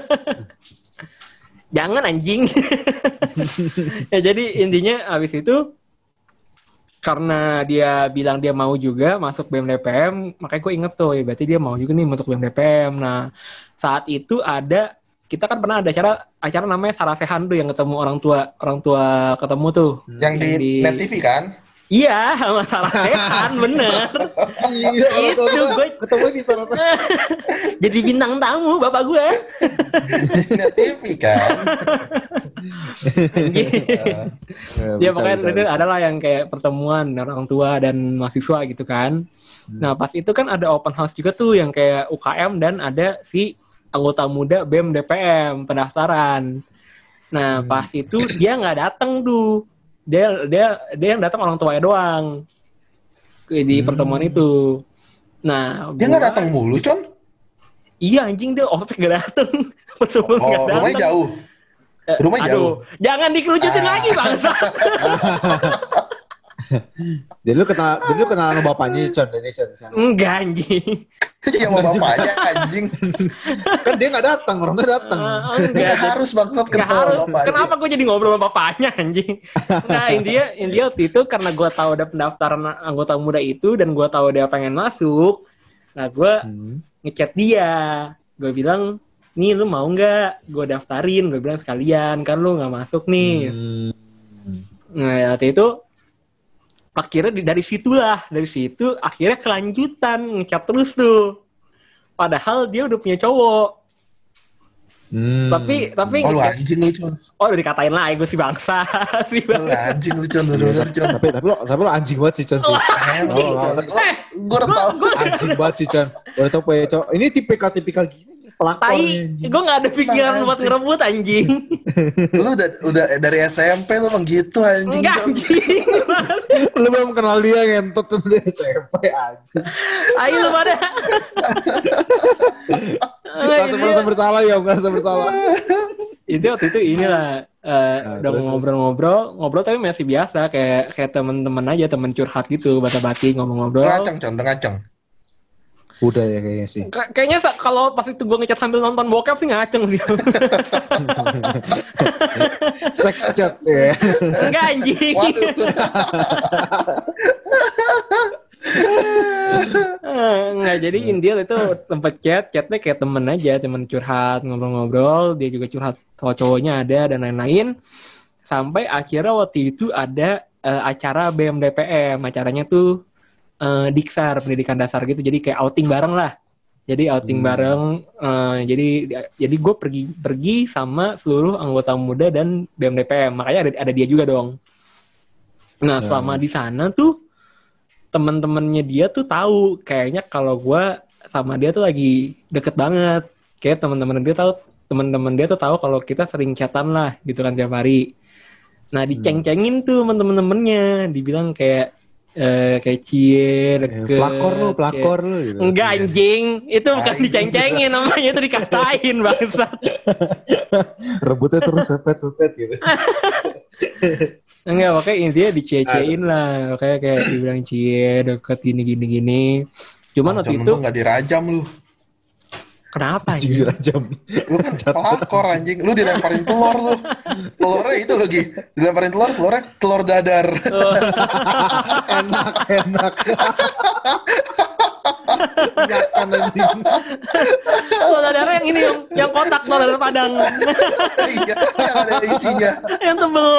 [SPEAKER 1] Jangan anjing. Ya jadi intinya abis itu karena dia bilang dia mau juga masuk B E M D P M, makanya gue inget tuh, ya berarti dia mau juga nih masuk B E M D P M. Nah, saat itu ada, kita kan pernah ada acara acara namanya Sarasehan tuh yang ketemu orang tua, orang tua ketemu tuh.
[SPEAKER 3] Yang di, Net T V kan?
[SPEAKER 1] Iya, sama Sarasehan, bener.
[SPEAKER 2] Iya, orang tua
[SPEAKER 1] Itu
[SPEAKER 2] gua
[SPEAKER 1] gue-
[SPEAKER 2] ketemu di sana.
[SPEAKER 1] Jadi bintang tamu bapak gue.
[SPEAKER 3] Di Net T V kan?
[SPEAKER 1] Ya pokoknya itu adalah yang kayak pertemuan orang tua dan mahasiswa gitu kan.
[SPEAKER 2] Hmm.
[SPEAKER 1] Nah pas itu kan ada open house juga tuh yang kayak U K M dan ada si anggota muda B E M D P M pendaftaran. Nah
[SPEAKER 2] Hmm.
[SPEAKER 1] pas itu dia nggak datang tuh, dia dia dia yang datang orang tuanya doang ke- di
[SPEAKER 2] Hmm.
[SPEAKER 1] pertemuan itu. Nah
[SPEAKER 3] Dia
[SPEAKER 1] gua-
[SPEAKER 3] nggak datang mulu, Con?
[SPEAKER 1] Iya anjing dia ospek nggak datang. Pertemuan nggak
[SPEAKER 3] Oh, rumahnya
[SPEAKER 1] datang.
[SPEAKER 3] jauh.
[SPEAKER 1] Eh,
[SPEAKER 3] rumahnya
[SPEAKER 1] aduh,
[SPEAKER 3] jauh.
[SPEAKER 1] jangan dikerucutin
[SPEAKER 3] Ah.
[SPEAKER 1] lagi bangsa.
[SPEAKER 2] Jadi lu kenal, jadi lu kenal sama bapaknya, Con, dari Con. San.
[SPEAKER 1] Enggak anjing.
[SPEAKER 3] Yang mau bapaknya, anjing.
[SPEAKER 2] Kan dia nggak datang, orang tuh datang.
[SPEAKER 1] Ah,
[SPEAKER 3] Dia
[SPEAKER 1] enggak.
[SPEAKER 3] nggak harus banget
[SPEAKER 1] Nggak
[SPEAKER 3] kenal
[SPEAKER 1] harus.
[SPEAKER 3] bapaknya.
[SPEAKER 1] Kenapa gue jadi ngobrol sama bapaknya anjing? Nah intinya, intinya waktu itu karena gue tahu ada pendaftaran anggota muda itu dan gue tahu dia pengen masuk. Nah gue
[SPEAKER 2] Hmm.
[SPEAKER 1] ngechat dia. Gue bilang, nih lu mau nggak? Gue daftarin. Gue bilang sekalian kan lu nggak masuk nih.
[SPEAKER 2] Hmm.
[SPEAKER 1] Nah waktu itu akhirnya di- dari situlah, dari situ akhirnya kelanjutan ngechat terus tuh. Padahal dia udah punya cowok.
[SPEAKER 2] Hmm.
[SPEAKER 1] Tapi tapi
[SPEAKER 3] Oh, lu
[SPEAKER 1] ngechat-
[SPEAKER 3] anjing lu, Con.
[SPEAKER 1] oh udah dikatain lagi gue si bangsa. Si
[SPEAKER 3] Lu
[SPEAKER 1] bangsa.
[SPEAKER 3] anjing lu, Con. Bener-bener, Con.
[SPEAKER 2] tapi tapi lo tapi lo anjing banget sih, Con sih.
[SPEAKER 3] Anjing,
[SPEAKER 2] Oh,
[SPEAKER 3] Con.
[SPEAKER 2] tapi-
[SPEAKER 1] Eh,
[SPEAKER 3] Gue udah tau.
[SPEAKER 2] Anjing banget sih, Con. Udah tau punya cowok. Ini tipikal tipikal gini nih, pelakor
[SPEAKER 1] tai,
[SPEAKER 2] nih, anjing.
[SPEAKER 1] gue gak ada pikiran
[SPEAKER 3] Nah,
[SPEAKER 1] buat
[SPEAKER 3] anjing.
[SPEAKER 1] ngerebut anjing.
[SPEAKER 3] Lu udah, udah dari S M P lu emang gitu, anjing.
[SPEAKER 1] Enggak
[SPEAKER 3] Con.
[SPEAKER 1] anjing.
[SPEAKER 2] Lu belum kenal dia ngentot tuh dari S M P aja.
[SPEAKER 1] Ayo lu pada.
[SPEAKER 2] Merasa merasa bersalah ya, merasa bersalah.
[SPEAKER 1] Itu waktu itu inilah eh,
[SPEAKER 2] Nah,
[SPEAKER 1] udah
[SPEAKER 2] terus,
[SPEAKER 1] ngobrol-ngobrol, ngobrol tapi masih biasa kayak kayak temen-temen aja, temen curhat gitu, basa-basi ngomong-ngobrol.
[SPEAKER 3] Ngaceng, Con. Ngaceng.
[SPEAKER 2] Udah ya kayaknya sih.
[SPEAKER 1] Ka- kayaknya sa- kalau pas itu gue ngechat sambil nonton bokep sih ngaceng dia.
[SPEAKER 2] Sex chat ya.
[SPEAKER 1] Enggak anjing.
[SPEAKER 3] Waduh.
[SPEAKER 1] Eh, Enggak, jadi India itu tempat chat, chatnya kayak temen aja, temen curhat, ngobrol-ngobrol, dia juga curhat soal cowoknya ada dan lain-lain. Sampai akhirnya waktu itu ada eh, acara B E M D P M, acaranya tuh eh, Diksar, pendidikan dasar gitu, jadi kayak outing bareng lah. Jadi outing
[SPEAKER 2] Hmm.
[SPEAKER 1] bareng, eh, jadi jadi gue pergi pergi sama seluruh anggota muda dan B E M D P M, makanya ada ada dia juga dong. Nah
[SPEAKER 2] Ya.
[SPEAKER 1] selama di sana tuh teman-temannya dia tuh tahu kayaknya kalau gue sama dia tuh lagi deket banget. Kayak teman-teman dia tahu, teman-teman dia tuh tahu kalau kita sering chatan lah gitu kan tiap hari. Nah diceng-cengin tuh teman-temannya, dibilang kayak eh, kayak cie deket.
[SPEAKER 2] Pelakor lu, pelakor lu gitu.
[SPEAKER 1] Enggak anjing, itu bukan
[SPEAKER 3] Anjing.
[SPEAKER 1] diceng-cengin namanya, itu dikatain bangsat.
[SPEAKER 2] Rebutnya terus pepet-pepet gitu.
[SPEAKER 1] Enggak, makanya intinya dicie-ciein lah. Kayak kayak dibilang cie deket gini gini gini. Cuman waktu
[SPEAKER 3] Con,
[SPEAKER 1] itu
[SPEAKER 3] untung nggak dirajam lu.
[SPEAKER 1] kenapa
[SPEAKER 2] Anjing
[SPEAKER 1] anjing?
[SPEAKER 2] dirajam.
[SPEAKER 3] Lu kan pelakor, anjing. Lu dilemparin telur lu. Telurnya itu lagi. Dilemparin telur, telurnya telur dadar.
[SPEAKER 2] Enak, enak. Yakan anjing.
[SPEAKER 1] Telur dadar yang ini yang, yang kotak telur dadar Padang.
[SPEAKER 3] Iya, yang ada isinya.
[SPEAKER 1] Yang tebel.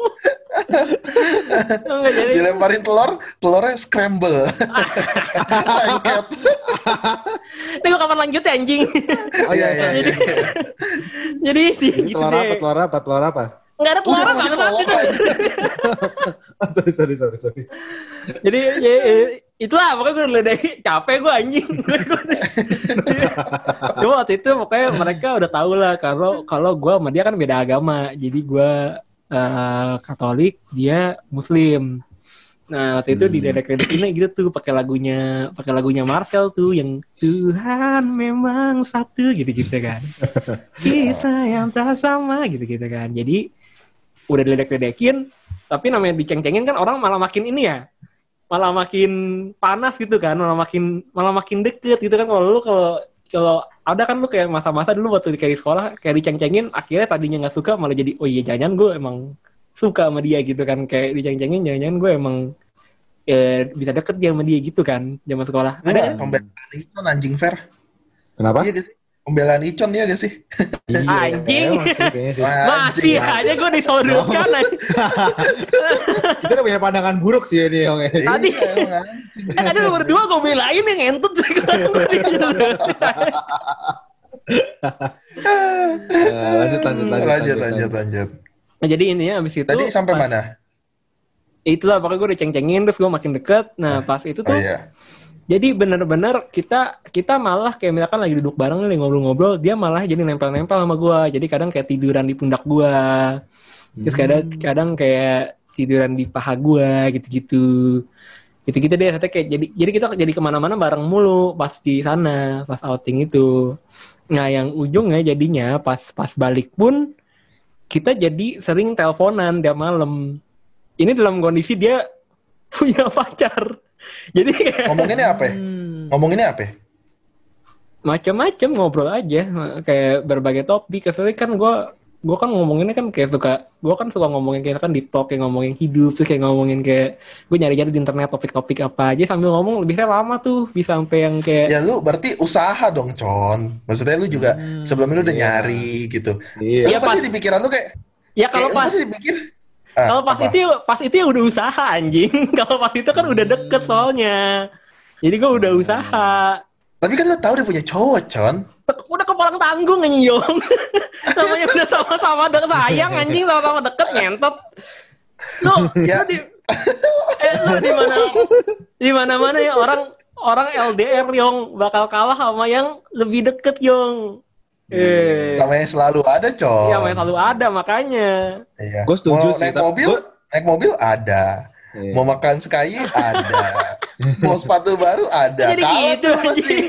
[SPEAKER 1] Enggak jadi.
[SPEAKER 3] Dilemparin telur, telurnya scramble. Lengket.
[SPEAKER 1] Ini gua kapan lanjut ya anjing?
[SPEAKER 2] Oh iya, iya, iya.
[SPEAKER 1] Jadi gitu
[SPEAKER 2] Telur apa,
[SPEAKER 1] deh.
[SPEAKER 2] telur apa, telur apa?
[SPEAKER 1] Enggak ada telur
[SPEAKER 3] Udah
[SPEAKER 1] apa
[SPEAKER 3] masih
[SPEAKER 1] bangsat
[SPEAKER 3] telur,
[SPEAKER 1] itu.
[SPEAKER 3] anjing.
[SPEAKER 2] Oh, sorry, sorry, sorry, sorry.
[SPEAKER 1] Jadi ya, ya, itulah pokoknya gue udah dari capek gue anjing. Cuma waktu itu pokoknya mereka udah tahu lah kalau kalau gue sama dia kan beda agama. Jadi gue eh, Katolik, dia Muslim. Nah waktu itu
[SPEAKER 2] Hmm.
[SPEAKER 1] di dedek-dedekinnya gitu tuh pakai lagunya pakai lagunya Marcel tuh yang Tuhan memang satu gitu-gitu kan. Kita yang tak sama gitu-gitu kan. Jadi udah diledek-ledekin, tapi namanya diceng-cengin kan orang malah makin ini ya, malah makin panas gitu kan, malah makin malah makin deket gitu kan. Kalau lu kalau kalau ada kan lu kayak masa-masa dulu waktu kayak di sekolah kayak diceng-cengin, akhirnya tadinya nggak suka malah jadi oh iya jangan gue emang suka sama dia gitu kan, kayak diceng-cengin jangan-jangan gue emang eh, bisa deket dia sama dia gitu kan zaman sekolah.
[SPEAKER 3] Lu
[SPEAKER 1] Ada
[SPEAKER 3] nggak pembelaan Icon anjing Fer?
[SPEAKER 2] Kenapa?
[SPEAKER 3] Iya gak sih? Pembelaan Icon ya gak sih?
[SPEAKER 2] Iya,
[SPEAKER 1] Anjing.
[SPEAKER 2] emang sih, kayaknya sih.
[SPEAKER 1] masih
[SPEAKER 3] Anjing.
[SPEAKER 1] aja gue disodorkan anjing.
[SPEAKER 2] Kita udah punya pandangan buruk sih ini, Yong.
[SPEAKER 1] Tadi-
[SPEAKER 3] Iya, emang anjing.
[SPEAKER 1] Eh tadi lu berdua gue belain yang ngentut sih.
[SPEAKER 2] Nah, lanjut, lanjut, lanjut,
[SPEAKER 3] Lanjut, lanjut, lanjut.
[SPEAKER 1] Nah, jadi intinya abis itu
[SPEAKER 3] Tadi sampai
[SPEAKER 1] pas-
[SPEAKER 3] mana?
[SPEAKER 1] Itulah pokoknya gue udah ceng-cengin terus gue makin deket. Nah pas itu
[SPEAKER 3] Oh
[SPEAKER 1] tuh
[SPEAKER 3] iya.
[SPEAKER 1] jadi bener-bener kita kita malah kayak misalkan lagi duduk bareng nih ngobrol-ngobrol, dia malah jadi nempel-nempel sama gue. Jadi kadang kayak tiduran di pundak gue, terus kadang kadang kayak tiduran di paha gue gitu-gitu. Gitu-gitu deh. Katanya kayak jadi jadi kita jadi kemana-mana bareng mulu pas di sana pas outing itu. Nah yang ujungnya jadinya pas pas balik pun kita jadi sering teleponan tiap malam. Ini dalam kondisi dia punya pacar. Jadi kayak
[SPEAKER 3] Ngomonginnya apa? ya?
[SPEAKER 1] Hmm.
[SPEAKER 3] Ngomonginnya apa? ya?
[SPEAKER 1] macam-macam ngobrol aja kayak berbagai topik. Kecuali kan gue gue kan ngomonginnya kan kayak suka gue kan suka ngomongin kayak kan di talk kayak ngomongin hidup terus kayak ngomongin kayak gue nyari-nyari di internet topik-topik apa aja sambil ngomong lebihnya lama tuh bisa sampai yang kayak
[SPEAKER 3] Ya lu berarti usaha dong, Con. Maksudnya lu juga
[SPEAKER 1] Hmm,
[SPEAKER 3] sebelumnya lu udah
[SPEAKER 2] iya.
[SPEAKER 3] nyari gitu.
[SPEAKER 2] Iya.
[SPEAKER 1] Iya,
[SPEAKER 3] Lu pasti
[SPEAKER 1] pas-
[SPEAKER 3] di pikiran lu kayak,
[SPEAKER 1] ya kalau
[SPEAKER 3] kayak lu
[SPEAKER 1] pas
[SPEAKER 3] pasti dipikir. Ah,
[SPEAKER 1] kalau pas
[SPEAKER 3] apa?
[SPEAKER 1] itu pas itu ya udah usaha anjing. Kalau pas itu kan udah deket soalnya. Jadi gue udah usaha.
[SPEAKER 3] Tapi kan lu tahu dia punya cowok, Con.
[SPEAKER 1] Udah kepalang tanggung anjing Yong. Namanya udah sama-sama deket sayang anjing, sama-sama deket nyentot. Lu,
[SPEAKER 3] Ya.
[SPEAKER 1] lu di eh lu di mana di mana-mana ya orang orang L D R Yong bakal kalah sama yang lebih deket Yong. Eh,
[SPEAKER 3] Sama yang selalu ada, Con.
[SPEAKER 1] iya yang selalu ada makanya.
[SPEAKER 3] Iya.
[SPEAKER 2] Gua setuju
[SPEAKER 3] Mau
[SPEAKER 2] sih,
[SPEAKER 3] naik
[SPEAKER 2] tapi
[SPEAKER 3] mobil,
[SPEAKER 2] gua-
[SPEAKER 3] naik mobil ada.
[SPEAKER 2] Iya.
[SPEAKER 3] Mau makan sekali ada. Mau sepatu baru ada.
[SPEAKER 1] Jadi
[SPEAKER 3] Kalah
[SPEAKER 1] gitu
[SPEAKER 3] tuh pasti.
[SPEAKER 1] anjing.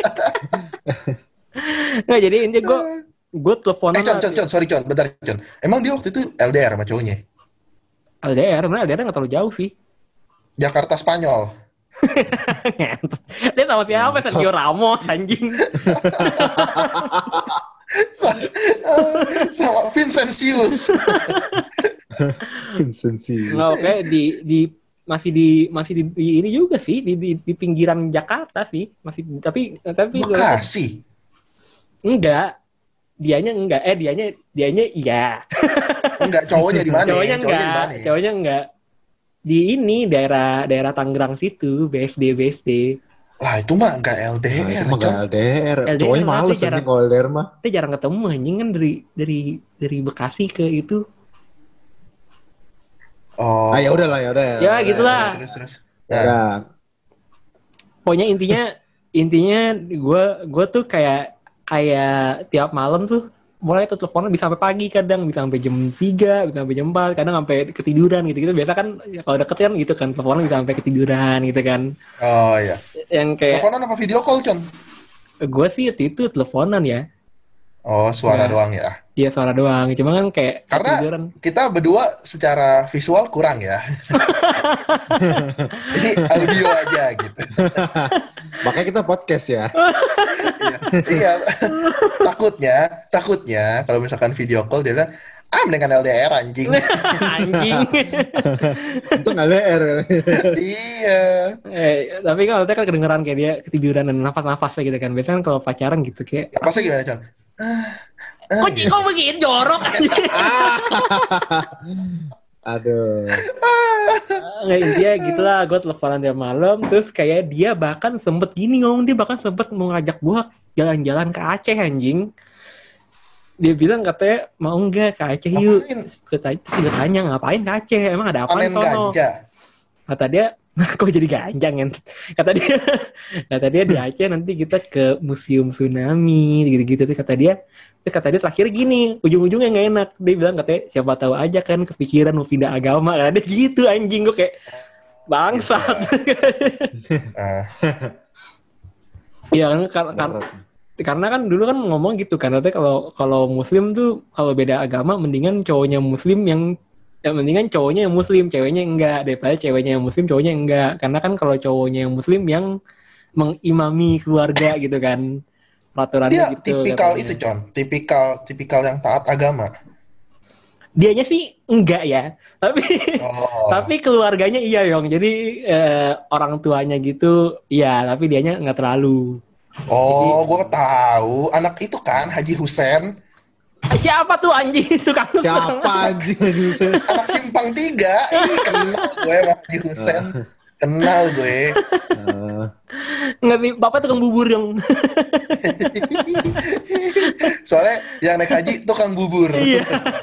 [SPEAKER 1] Nggak jadi intinya gue gue teleponan
[SPEAKER 3] Eh, Con, Con, Con, sorry, Con, bentar, Con. Emang dia waktu itu L D R sama cowoknya?
[SPEAKER 1] L D R, sebenarnya L D R nggak terlalu jauh sih.
[SPEAKER 3] Jakarta Spanyol.
[SPEAKER 1] Ngentot. Dia sama siapa? Sergio Ramos anjing.
[SPEAKER 3] Sama Vincentius.
[SPEAKER 2] Insensi.
[SPEAKER 1] Nggak oke di di masih di masih di, di ini juga sih di, di di pinggiran Jakarta sih masih tapi tapi
[SPEAKER 3] Bekasi.
[SPEAKER 1] enggak dianya enggak eh dianya dianya iya
[SPEAKER 3] Enggak, cowoknya di mana?
[SPEAKER 1] cowoknya
[SPEAKER 3] di
[SPEAKER 1] enggak
[SPEAKER 3] mana?
[SPEAKER 1] cowoknya enggak di ini daerah daerah Tangerang situ B S D B S D
[SPEAKER 3] Lah, itu mah enggak L D R,
[SPEAKER 2] Nah, itu mah
[SPEAKER 3] Con.
[SPEAKER 2] gak L D R.
[SPEAKER 1] L D R
[SPEAKER 2] Cowoknya
[SPEAKER 1] tapi
[SPEAKER 2] males
[SPEAKER 1] jarang-
[SPEAKER 2] anjing kalau L D R mah.
[SPEAKER 1] kita jarang ketemu anjing kan dari dari dari Bekasi ke itu
[SPEAKER 3] Oh.
[SPEAKER 2] Ah ya udah lah ya udah.
[SPEAKER 1] Ya, gitulah.
[SPEAKER 3] Terus, terus, terus.
[SPEAKER 2] Ya.
[SPEAKER 3] Nah,
[SPEAKER 1] pokoknya intinya intinya gue gue tuh kayak kayak tiap malam tuh mulai tuh teleponan bisa sampai pagi kadang bisa sampai jam tiga bisa sampai jam empat kadang sampai ketiduran gitu gitu biasa kan ya, kalau deket kan gitu kan teleponan bisa sampai ketiduran gitu kan
[SPEAKER 3] oh iya.
[SPEAKER 1] yang kayak
[SPEAKER 3] Teleponan apa video call, Con?
[SPEAKER 1] gue sih waktu itu teleponan ya
[SPEAKER 3] Oh, suara
[SPEAKER 1] Ya.
[SPEAKER 3] doang ya.
[SPEAKER 1] dia suara doang cuma kan kayak
[SPEAKER 3] Karena
[SPEAKER 1] ketiduran
[SPEAKER 3] kita berdua secara visual kurang ya. Jadi audio aja gitu.
[SPEAKER 2] Makanya kita podcast ya.
[SPEAKER 3] Iya, iya. takutnya, takutnya kalau misalkan video call dia bilang, ah mendingan L D R anjing.
[SPEAKER 1] anjing
[SPEAKER 2] Itu gak L D R.
[SPEAKER 3] Iya.
[SPEAKER 1] eh, tapi kalau kan kedengeran kayak dia ketiduran dan nafas-nafasnya gitu kan biasanya kan kalau pacaran gitu kayak
[SPEAKER 3] Napasnya gimana, Con? Ah, ah,
[SPEAKER 1] kok
[SPEAKER 3] gitu.
[SPEAKER 1] kok begini jorok anjing
[SPEAKER 2] Aduh.
[SPEAKER 1] nggak intinya gitulah gue teleponan tiap malam terus kayak dia bahkan sempet gini ngomong dia bahkan sempet mau ngajak gue jalan-jalan ke Aceh anjing dia bilang katanya mau nggak ke Aceh yuk
[SPEAKER 3] Ngapain?
[SPEAKER 1] gue tanya, gue tanya ngapain ke Aceh emang ada apa
[SPEAKER 3] Panen ganja.
[SPEAKER 1] kata dia kok jadi ganjang kan kata dia kata dia di Aceh nanti kita ke museum tsunami gitu-gitu terus kata dia terus kata dia terakhir gini ujung-ujungnya nggak enak dia bilang katanya siapa tahu aja kan kepikiran mau pindah agama kan dia gitu anjing gue kayak bangsat.
[SPEAKER 3] Ah.
[SPEAKER 1] Iya kan karena karena kan dulu kan ngomong gitu kan, katanya kalau kalau muslim tuh kalau beda agama mendingan cowoknya muslim yang ya mendingan cowoknya yang muslim, ceweknya enggak, daripada ceweknya yang muslim, cowoknya enggak. Karena kan kalau cowoknya yang muslim yang mengimami keluarga gitu kan. Peraturannya
[SPEAKER 3] Dia
[SPEAKER 1] gitu.
[SPEAKER 3] tipikal
[SPEAKER 1] katanya.
[SPEAKER 3] itu, Con. Tipikal tipikal yang taat agama.
[SPEAKER 1] Dianya sih enggak ya. Tapi
[SPEAKER 3] Oh.
[SPEAKER 1] tapi keluarganya iya, Yong. Jadi eh, orang tuanya gitu iya, tapi dianya enggak terlalu.
[SPEAKER 3] Oh, gue tahu. Anak itu kan Haji Husen.
[SPEAKER 1] Siapa tuh anjing itu kamu?
[SPEAKER 2] Siapa anjing anjing?
[SPEAKER 3] Anak simpang tiga. Ih, kenal gue sama Haji Husen. Kenal gue.
[SPEAKER 2] Uh,
[SPEAKER 1] Enggak nih, bapak tukang bubur yang.
[SPEAKER 3] Soalnya yang naik haji tukang bubur.
[SPEAKER 1] Iya.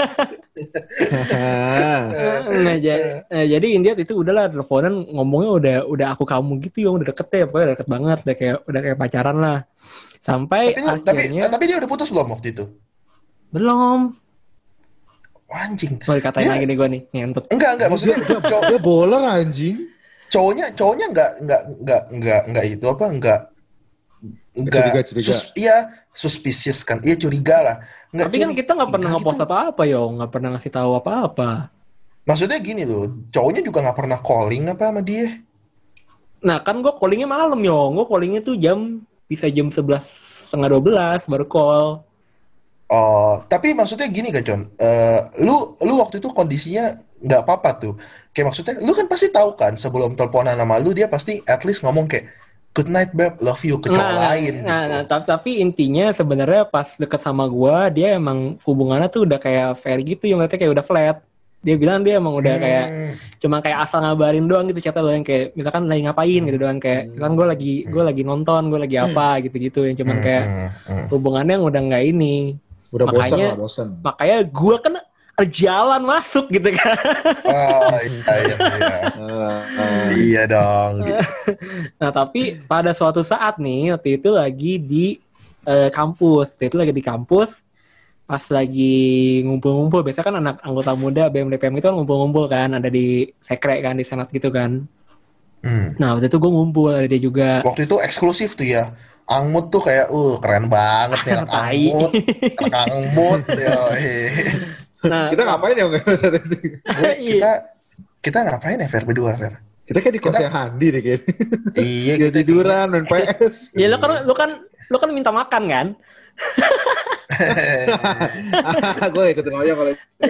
[SPEAKER 1] Nah, jadi, nah, jadi India itu udahlah teleponan ngomongnya udah udah aku kamu gitu, yang udah deket ya, pokoknya udah deket banget, udah kayak udah kayak pacaran lah. Sampai
[SPEAKER 3] Tapi, tapi,
[SPEAKER 1] akhirnya
[SPEAKER 3] tapi dia udah putus belum waktu itu?
[SPEAKER 1] belum.
[SPEAKER 3] Anjing.
[SPEAKER 1] Mau dikatain
[SPEAKER 3] Dia-
[SPEAKER 1] lagi nih gue nih, ngentut.
[SPEAKER 3] Enggak, enggak. Maksudnya cow-
[SPEAKER 2] dia bowler anjing.
[SPEAKER 3] cowoknya cowoknya enggak enggak enggak enggak enggak itu apa enggak enggak
[SPEAKER 2] Curiga, curiga.
[SPEAKER 3] sus- iya suspicious kan, iya curiga lah. Enggak
[SPEAKER 1] Tapi kan
[SPEAKER 3] curi-
[SPEAKER 1] kita nggak pernah
[SPEAKER 3] curiga
[SPEAKER 1] ngepost
[SPEAKER 3] gitu.
[SPEAKER 1] apa-apa, yo, nggak pernah ngasih tahu apa-apa.
[SPEAKER 3] Maksudnya gini loh, cowoknya juga nggak pernah calling apa sama dia.
[SPEAKER 1] Nah kan gue callingnya malam, yo, gue callingnya tuh jam bisa jam sebelas setengah dua belas baru call.
[SPEAKER 3] Oh, tapi maksudnya gini gak, Con? Eh, lu lu waktu itu kondisinya nggak apa-apa tuh. Kayak maksudnya, lu kan pasti tahu kan sebelum teleponan sama lu dia pasti at least ngomong kayak good night babe, love you ke cowok lain
[SPEAKER 1] nah,
[SPEAKER 3] gitu.
[SPEAKER 1] nah, tapi, tapi intinya sebenarnya pas deket sama gua dia emang hubungannya tuh udah kayak fair gitu, yang katanya kayak udah flat. Dia bilang dia emang udah kayak
[SPEAKER 3] Hmm,
[SPEAKER 1] cuma kayak asal ngabarin doang gitu, chatnya lo yang kayak misalkan lagi ngapain gitu doang, kayak misalkan gue lagi gue lagi nonton, gue lagi apa gitu-gitu, yang cuman
[SPEAKER 3] hmm,
[SPEAKER 1] kayak
[SPEAKER 3] hmm, hmm.
[SPEAKER 1] hubungannya yang udah nggak ini.
[SPEAKER 2] Udah bosan
[SPEAKER 1] Makanya-
[SPEAKER 2] lah, bosan.
[SPEAKER 1] Makanya gue kan jalan masuk gitu kan.
[SPEAKER 3] Oh iya iya iya.
[SPEAKER 2] Uh, uh,
[SPEAKER 3] Iya dong.
[SPEAKER 1] Nah tapi pada suatu saat nih waktu itu lagi di eh, kampus, waktu itu lagi di kampus pas lagi ngumpul-ngumpul. Biasa kan anak anggota muda B M D P M itu kan ngumpul-ngumpul kan, ada di sekre kan, di senat gitu kan.
[SPEAKER 3] Hmm.
[SPEAKER 1] Nah waktu itu gue ngumpul, ada dia juga.
[SPEAKER 3] Waktu itu eksklusif tuh ya. Angmut tuh kayak, uh keren banget nih anak
[SPEAKER 1] Tai.
[SPEAKER 3] Angmut. Anak Angmut. Yoi.
[SPEAKER 1] Nah
[SPEAKER 2] kita ngapain ya nggak saat itu?
[SPEAKER 3] Gue, kita kita ngapain ya Fer berdua Fer?
[SPEAKER 2] Kita kayak di kosnya Handi deh kayaknya.
[SPEAKER 3] Iya
[SPEAKER 2] Dia
[SPEAKER 3] kita
[SPEAKER 2] tiduran main P S.
[SPEAKER 1] ya lu kan lu kan lu kan minta makan kan?
[SPEAKER 2] Gue ikutin aja kalau.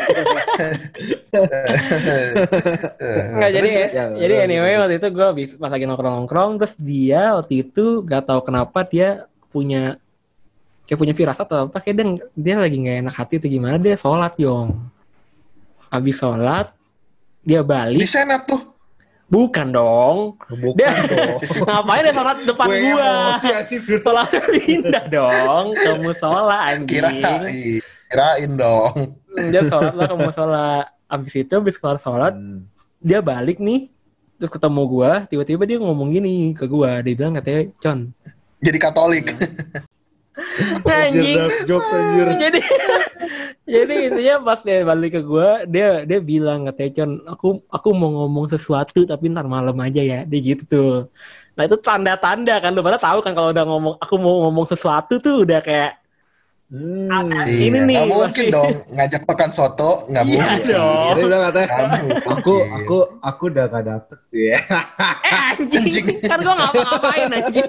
[SPEAKER 1] Nggak, jadi
[SPEAKER 2] Terus, ya,
[SPEAKER 1] jadi
[SPEAKER 2] terus,
[SPEAKER 1] anyway
[SPEAKER 2] terus.
[SPEAKER 1] waktu itu gue pas lagi nongkrong-nongkrong, terus dia waktu itu gak tahu kenapa dia punya kayak punya firasat atau apa, kayak dia, dia lagi nggak enak hati atau gimana, dia sholat Yong. Habis sholat dia
[SPEAKER 3] Di
[SPEAKER 1] balik,
[SPEAKER 3] senat tuh.
[SPEAKER 1] bukan dong,
[SPEAKER 2] Bukan
[SPEAKER 1] dia
[SPEAKER 2] dong.
[SPEAKER 1] ngapain dia sholat depan
[SPEAKER 2] Gue
[SPEAKER 1] gua,
[SPEAKER 2] emosi anjing.
[SPEAKER 1] sholatnya pindah dong ke musola
[SPEAKER 3] Kira
[SPEAKER 1] anjing,
[SPEAKER 3] kirain dong.
[SPEAKER 1] dia sholat lah ke musola. Habis itu habis kelar sholat
[SPEAKER 2] Hmm.
[SPEAKER 1] dia balik nih, terus ketemu gua, tiba-tiba dia ngomong gini ke gua, dia bilang katanya, Con,
[SPEAKER 3] Jadi Katolik.
[SPEAKER 1] anjing.
[SPEAKER 2] Anjir, dark jokes anjir.
[SPEAKER 1] jadi jadi intinya pas dia balik ke gua, dia dia bilang katanya, Con, aku aku mau ngomong sesuatu tapi ntar malam aja ya, dia gitu tuh. Nah itu tanda-tanda kan, lu pada tahu kan kalau udah ngomong aku mau ngomong sesuatu tuh udah kayak
[SPEAKER 2] Hmm.
[SPEAKER 1] Ah,
[SPEAKER 3] Iya,
[SPEAKER 1] ini nih,
[SPEAKER 3] nggak mungkin
[SPEAKER 1] pasti.
[SPEAKER 3] dong ngajak makan soto, nggak
[SPEAKER 1] Iya
[SPEAKER 3] mungkin.
[SPEAKER 1] dong.
[SPEAKER 2] Dia bilang katanya,
[SPEAKER 3] Nggak mungkin.
[SPEAKER 2] aku aku aku udah gak dapet ya.
[SPEAKER 1] eh anjing,
[SPEAKER 3] Anjing.
[SPEAKER 1] kan gua ngapa-ngapain anjing.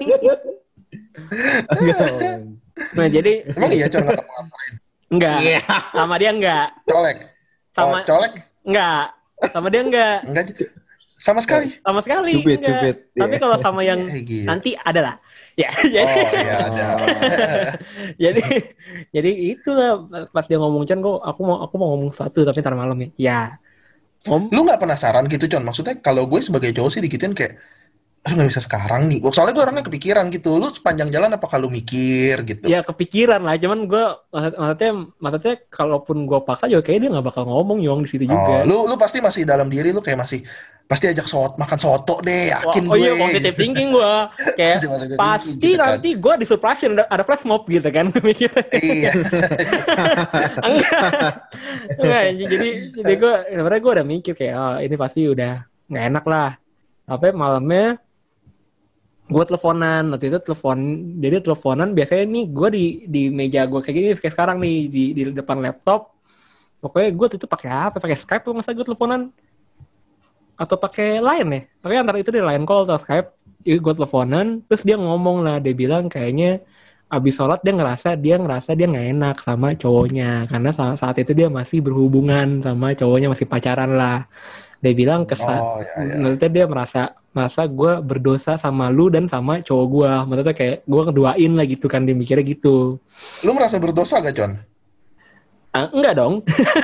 [SPEAKER 1] Nah jadi
[SPEAKER 3] Emang iya Con nggak ngapain?
[SPEAKER 1] enggak,
[SPEAKER 2] Iya.
[SPEAKER 1] sama dia enggak,
[SPEAKER 3] Colek.
[SPEAKER 1] sama
[SPEAKER 3] Oh, colek?
[SPEAKER 1] enggak, sama dia enggak,
[SPEAKER 3] Enggak sama sekali.
[SPEAKER 1] sama sekali
[SPEAKER 2] Cubit,
[SPEAKER 1] enggak.
[SPEAKER 2] cubit.
[SPEAKER 1] Tapi
[SPEAKER 2] Iya.
[SPEAKER 1] kalau sama yang
[SPEAKER 3] Eh, gila.
[SPEAKER 1] nanti ada lah. Ya,
[SPEAKER 3] Oh
[SPEAKER 1] jadi
[SPEAKER 3] iya ada.
[SPEAKER 1] jadi jadi itulah pas dia ngomong, Con, kok aku mau aku mau ngomong sesuatu tapi ntar malam ya. Ya. Om,
[SPEAKER 3] Lu nggak penasaran gitu Con? Maksudnya kalau gue sebagai cowok sih dikitin kayak, aduh nggak bisa sekarang nih. Soalnya gue orangnya kepikiran gitu. Lu sepanjang jalan apa kalau mikir gitu?
[SPEAKER 1] ya kepikiran lah, cuman gue maksud, maksudnya maksudnya kalaupun gue paksa juga kayaknya dia nggak bakal ngomong Yong di situ
[SPEAKER 3] Oh,
[SPEAKER 1] juga.
[SPEAKER 3] lu lu pasti masih dalam diri lu kayak masih pasti ajak soto, makan soto deh,
[SPEAKER 1] Oh,
[SPEAKER 3] yakin
[SPEAKER 1] oh
[SPEAKER 3] gue.
[SPEAKER 1] iya, positive thinking gue. Kayak
[SPEAKER 3] Masih positive
[SPEAKER 1] pasti
[SPEAKER 3] thinking gitu kan.
[SPEAKER 1] nanti gue di surprise ada, ada flash mob gitu kan. Mikirnya.
[SPEAKER 3] Iya.
[SPEAKER 1] Enggak. Enggak, jadi jadi gue sebenarnya gue udah mikir kayak, oh ini pasti udah nggak enak lah. Sampai malamnya gue teleponan, waktu itu telepon, jadi teleponan biasanya nih gue di di meja gue kayak gini kayak sekarang nih di di depan laptop. Pokoknya gue tuh pakai apa? Pakai Skype tuh masa gue teleponan atau pakai Line ya? Pokoknya antara itu di Line call atau Skype. Jadi gue teleponan, terus dia ngomong lah, dia bilang kayaknya abis sholat dia ngerasa dia ngerasa dia nggak enak sama cowoknya karena saat, saat itu dia masih berhubungan sama cowoknya, masih pacaran lah. Dia bilang kesan,
[SPEAKER 3] Oh, ya, ya.
[SPEAKER 1] maksudnya dia merasa merasa gue berdosa sama lu dan sama cowok gue. Maksudnya kayak gue ngeduain lah gitu kan, dia mikirnya gitu.
[SPEAKER 3] Lu merasa berdosa gak, Con?
[SPEAKER 1] Ah, enggak dong.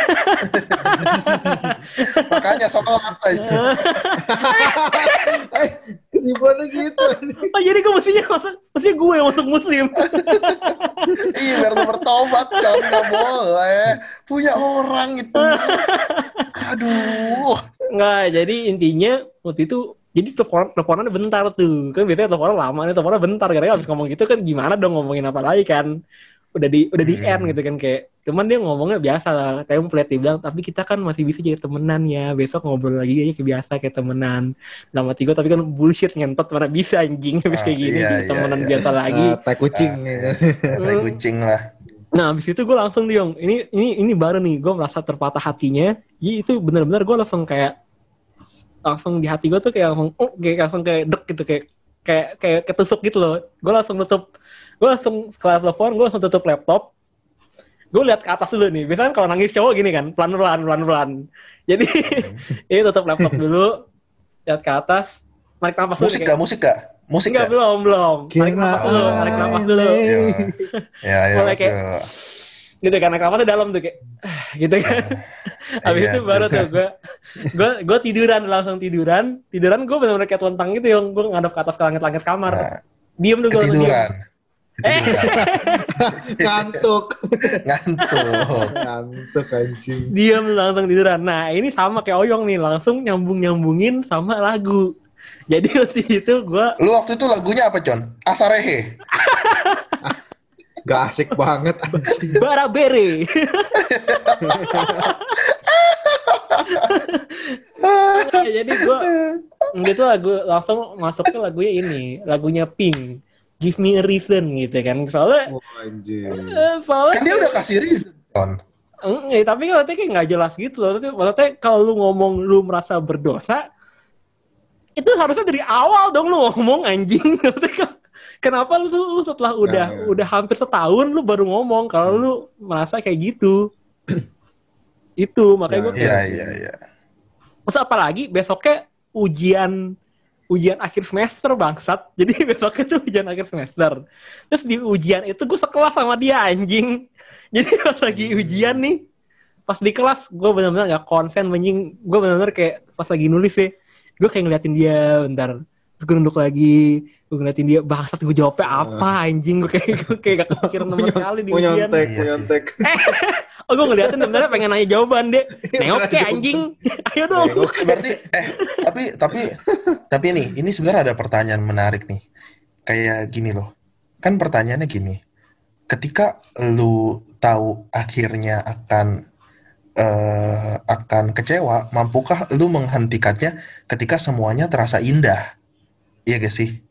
[SPEAKER 3] Makanya sholat aja.
[SPEAKER 2] Eh, kesimpulannya gitu.
[SPEAKER 1] Oh jadi gue mestinya masuk, mestinya gue yang masuk muslim.
[SPEAKER 3] Iya, biar lu bertobat, Con. Gak boleh. Punya orang itu. Aduh.
[SPEAKER 1] Enggak, jadi intinya waktu itu jadi telepon teleponannya bentar tuh. Kan biasanya teleponan lama nih, teleponan bentar karena habis ngomong gitu kan gimana dong ngomongin apa lagi kan. Udah di udah di end
[SPEAKER 3] Hmm.
[SPEAKER 1] gitu kan kayak. Cuman dia ngomongnya biasa lah, template dia bilang, tapi kita kan masih bisa jadi temenan ya. Besok ngobrol lagi aja kayak biasa kayak temenan. Lama tiga tapi kan bullshit ngentot mana bisa anjing habis
[SPEAKER 3] Ah,
[SPEAKER 1] kayak gini
[SPEAKER 3] iya,
[SPEAKER 1] jadi
[SPEAKER 3] iya,
[SPEAKER 1] temenan
[SPEAKER 3] iya.
[SPEAKER 1] biasa lagi.
[SPEAKER 2] Ah, tai kucing gitu.
[SPEAKER 3] Tai kucing lah.
[SPEAKER 1] Nah, abis itu gue langsung nih, Yong. Ini ini ini baru nih, gue merasa terpatah hatinya. Jadi itu benar-benar gue langsung kayak langsung di hati gue tuh kayak langsung, oh, kayak langsung kayak dek gitu, kayak kayak kayak ketusuk gitu loh. Gue langsung tutup, gue langsung setelah telepon, gue langsung tutup laptop. Gue lihat ke atas dulu nih. Biasanya kan kalau nangis cowok gini kan, pelan-pelan, pelan-pelan. Jadi ini tutup laptop dulu, lihat ke atas, tarik nafas dulu.
[SPEAKER 3] Musik
[SPEAKER 1] nih,
[SPEAKER 3] gak?
[SPEAKER 1] kayak,
[SPEAKER 3] Musik gak? Musik
[SPEAKER 1] enggak,
[SPEAKER 3] gak?
[SPEAKER 1] belum, belum. Tarik
[SPEAKER 2] Kira
[SPEAKER 1] nafas dulu, tarik nafas dulu.
[SPEAKER 3] Ya, ya, ya.
[SPEAKER 1] Mulai kayak-
[SPEAKER 3] masuk.
[SPEAKER 1] Gitu kan, naik nafasnya dalam tuh kayak, "Ah," gitu kan. Abis
[SPEAKER 3] Iya,
[SPEAKER 1] itu baru tuh gue, gue gue tiduran, langsung tiduran, tiduran gue benar-benar kayak telentang gitu, yang gue ngadep ke atas ke langit-langit kamar,
[SPEAKER 3] Nah,
[SPEAKER 1] diem tuh gue langsung diem.
[SPEAKER 3] ketiduran. Ketiduran.
[SPEAKER 2] Ngantuk.
[SPEAKER 3] Ngantuk.
[SPEAKER 2] Ngantuk anjing.
[SPEAKER 1] Diem langsung tiduran. Nah ini sama kayak Oyong nih, langsung nyambung-nyambungin sama lagu. Jadi waktu itu gue,
[SPEAKER 3] Lu waktu itu lagunya apa, Con? Asarehe.
[SPEAKER 2] Gak asik banget anjing.
[SPEAKER 1] Barabere. Nah, jadi gue, gitu lagu, langsung masuk ke lagunya ini, lagunya Pink. Give me a reason gitu kan. Soalnya,
[SPEAKER 2] Oh, anjing.
[SPEAKER 1] eh, soalnya
[SPEAKER 3] Kan dia udah kasih reason, Con.
[SPEAKER 1] Eng- eh, tapi kalau kayak nggak jelas gitu loh. Tapi maksudnya kalau lu ngomong lu merasa berdosa, itu harusnya dari awal dong lu ngomong anjing. Maksudnya, kenapa lu, lu setelah udah
[SPEAKER 2] Nah.
[SPEAKER 1] udah hampir setahun lu baru ngomong kalau lu merasa kayak gitu? Itu makanya gue
[SPEAKER 2] Nah,
[SPEAKER 1] kayak.
[SPEAKER 3] Iya, iya, iya.
[SPEAKER 1] Terus apalagi besoknya ujian ujian akhir semester bangsat. Jadi besoknya tuh ujian akhir semester. Terus di ujian itu gue sekelas sama dia anjing. Jadi pas lagi ujian nih, pas di kelas gue benar-benar nggak konsen anjing. Gue benar-benar kayak pas lagi nulis ya, gue kayak ngeliatin dia bentar. Terus gue nunduk lagi, gue ngeliatin dia bangsat, gue jawabnya apa anjing. Gue kayak gue kayak gak kepikiran sama sekali di
[SPEAKER 2] Mau
[SPEAKER 1] ujian.
[SPEAKER 2] nyontek,
[SPEAKER 3] Iya
[SPEAKER 2] mau
[SPEAKER 3] sih.
[SPEAKER 2] nyontek.
[SPEAKER 1] Oh gue ngeliatin sebenarnya pengen nanya jawaban deh. Nengok kayak anjing. Ayo dong.
[SPEAKER 2] Nengok.
[SPEAKER 3] Berarti eh tapi tapi tapi nih, ini sebenarnya ada pertanyaan menarik nih. Kayak gini loh. Kan pertanyaannya gini. Ketika lu tahu akhirnya akan eh, akan kecewa, mampukah lu menghentikannya ketika semuanya terasa indah? Iya gak sih?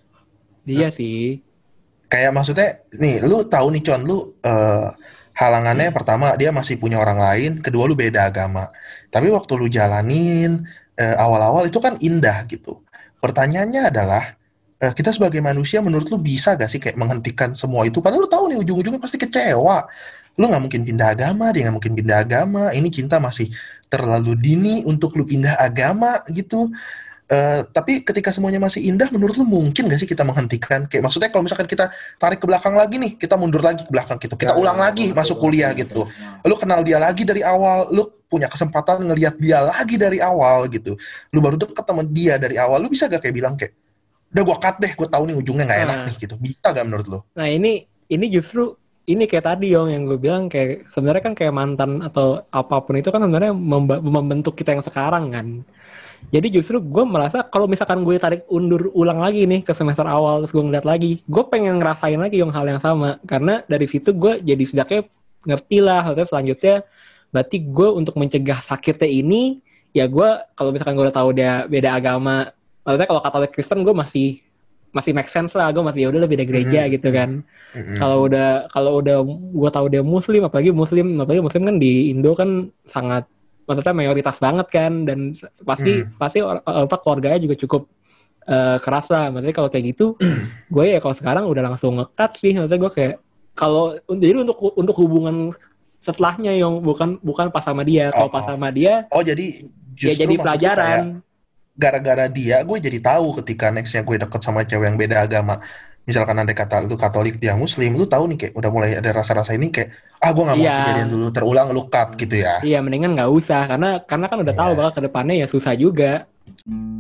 [SPEAKER 1] Dia sih.
[SPEAKER 3] Kayak maksudnya nih, lu tahu nih Con, lu eh, halangannya pertama dia masih punya orang lain, kedua lu beda agama. Tapi waktu lu jalanin eh, awal-awal itu kan indah gitu. Pertanyaannya adalah eh, kita sebagai manusia menurut lu bisa gak sih kayak menghentikan semua itu? Padahal lu tahu nih ujung-ujungnya pasti kecewa. Lu nggak mungkin pindah agama, dia nggak mungkin pindah agama. Ini cinta masih terlalu dini untuk lu pindah agama gitu. Eh, tapi ketika semuanya masih indah, menurut lu mungkin gak sih kita menghentikan? Kayak maksudnya kalau misalkan kita tarik ke belakang lagi nih, kita mundur lagi ke belakang gitu, kita
[SPEAKER 2] Ya,
[SPEAKER 3] ulang
[SPEAKER 2] ya,
[SPEAKER 3] lagi
[SPEAKER 2] betul,
[SPEAKER 3] masuk
[SPEAKER 2] betul,
[SPEAKER 3] kuliah
[SPEAKER 2] betul.
[SPEAKER 3] gitu. Lu kenal dia lagi dari awal, lu punya kesempatan ngelihat dia lagi dari awal gitu. Lu baru deket sama dia dari awal, lu bisa gak kayak bilang kayak, udah gua cut deh, gua tahu nih ujungnya nggak enak
[SPEAKER 1] Nah.
[SPEAKER 3] nih gitu. Bisa gak menurut lu?
[SPEAKER 1] Nah ini ini justru ini kayak tadi Yong yang gue bilang kayak sebenarnya kan kayak mantan atau apapun itu kan sebenarnya memba- membentuk kita yang sekarang kan. Jadi justru gue merasa kalau misalkan gue tarik undur ulang lagi nih ke semester awal terus gue ngeliat lagi, gue pengen ngerasain lagi yang hal yang sama karena dari situ gue jadi setidaknya ngerti lah. Terus selanjutnya berarti gue untuk mencegah sakitnya ini ya gue kalau misalkan gue udah tahu dia beda agama maksudnya kalau Katolik Kristen gue masih masih make sense lah, gue masih ya udah beda gereja
[SPEAKER 3] Mm-hmm.
[SPEAKER 1] gitu kan.
[SPEAKER 3] Mm-hmm.
[SPEAKER 1] Kalau udah kalau udah gue tahu dia Muslim, apalagi Muslim, apalagi Muslim kan di Indo kan sangat, maksudnya mayoritas banget kan, dan pasti
[SPEAKER 3] Mm.
[SPEAKER 1] pasti or- apa keluarganya juga cukup uh, kerasa. Maksudnya kalau kayak gitu, gue ya kalau sekarang udah langsung nge-cut sih. Maksudnya gue kayak kalau jadi untuk untuk hubungan setelahnya yang bukan bukan pas sama dia, kalau
[SPEAKER 3] Oh,
[SPEAKER 1] pas
[SPEAKER 3] oh.
[SPEAKER 1] sama dia
[SPEAKER 3] Oh jadi
[SPEAKER 1] ya
[SPEAKER 3] justru
[SPEAKER 1] jadi
[SPEAKER 3] maksud lu kayak
[SPEAKER 1] pelajaran.
[SPEAKER 3] gara-gara dia gue jadi tahu ketika nextnya gue deket sama cewek yang beda agama, misalkan ada kata lu Katolik dia Muslim, lu tahu nih kayak udah mulai ada rasa-rasa ini kayak ah gue nggak mau
[SPEAKER 1] Iya.
[SPEAKER 3] kejadian dulu terulang, lu cut gitu ya.
[SPEAKER 1] Iya, mendingan nggak usah karena karena kan udah tahu
[SPEAKER 3] Iya.
[SPEAKER 1] bakal ke depannya ya susah juga.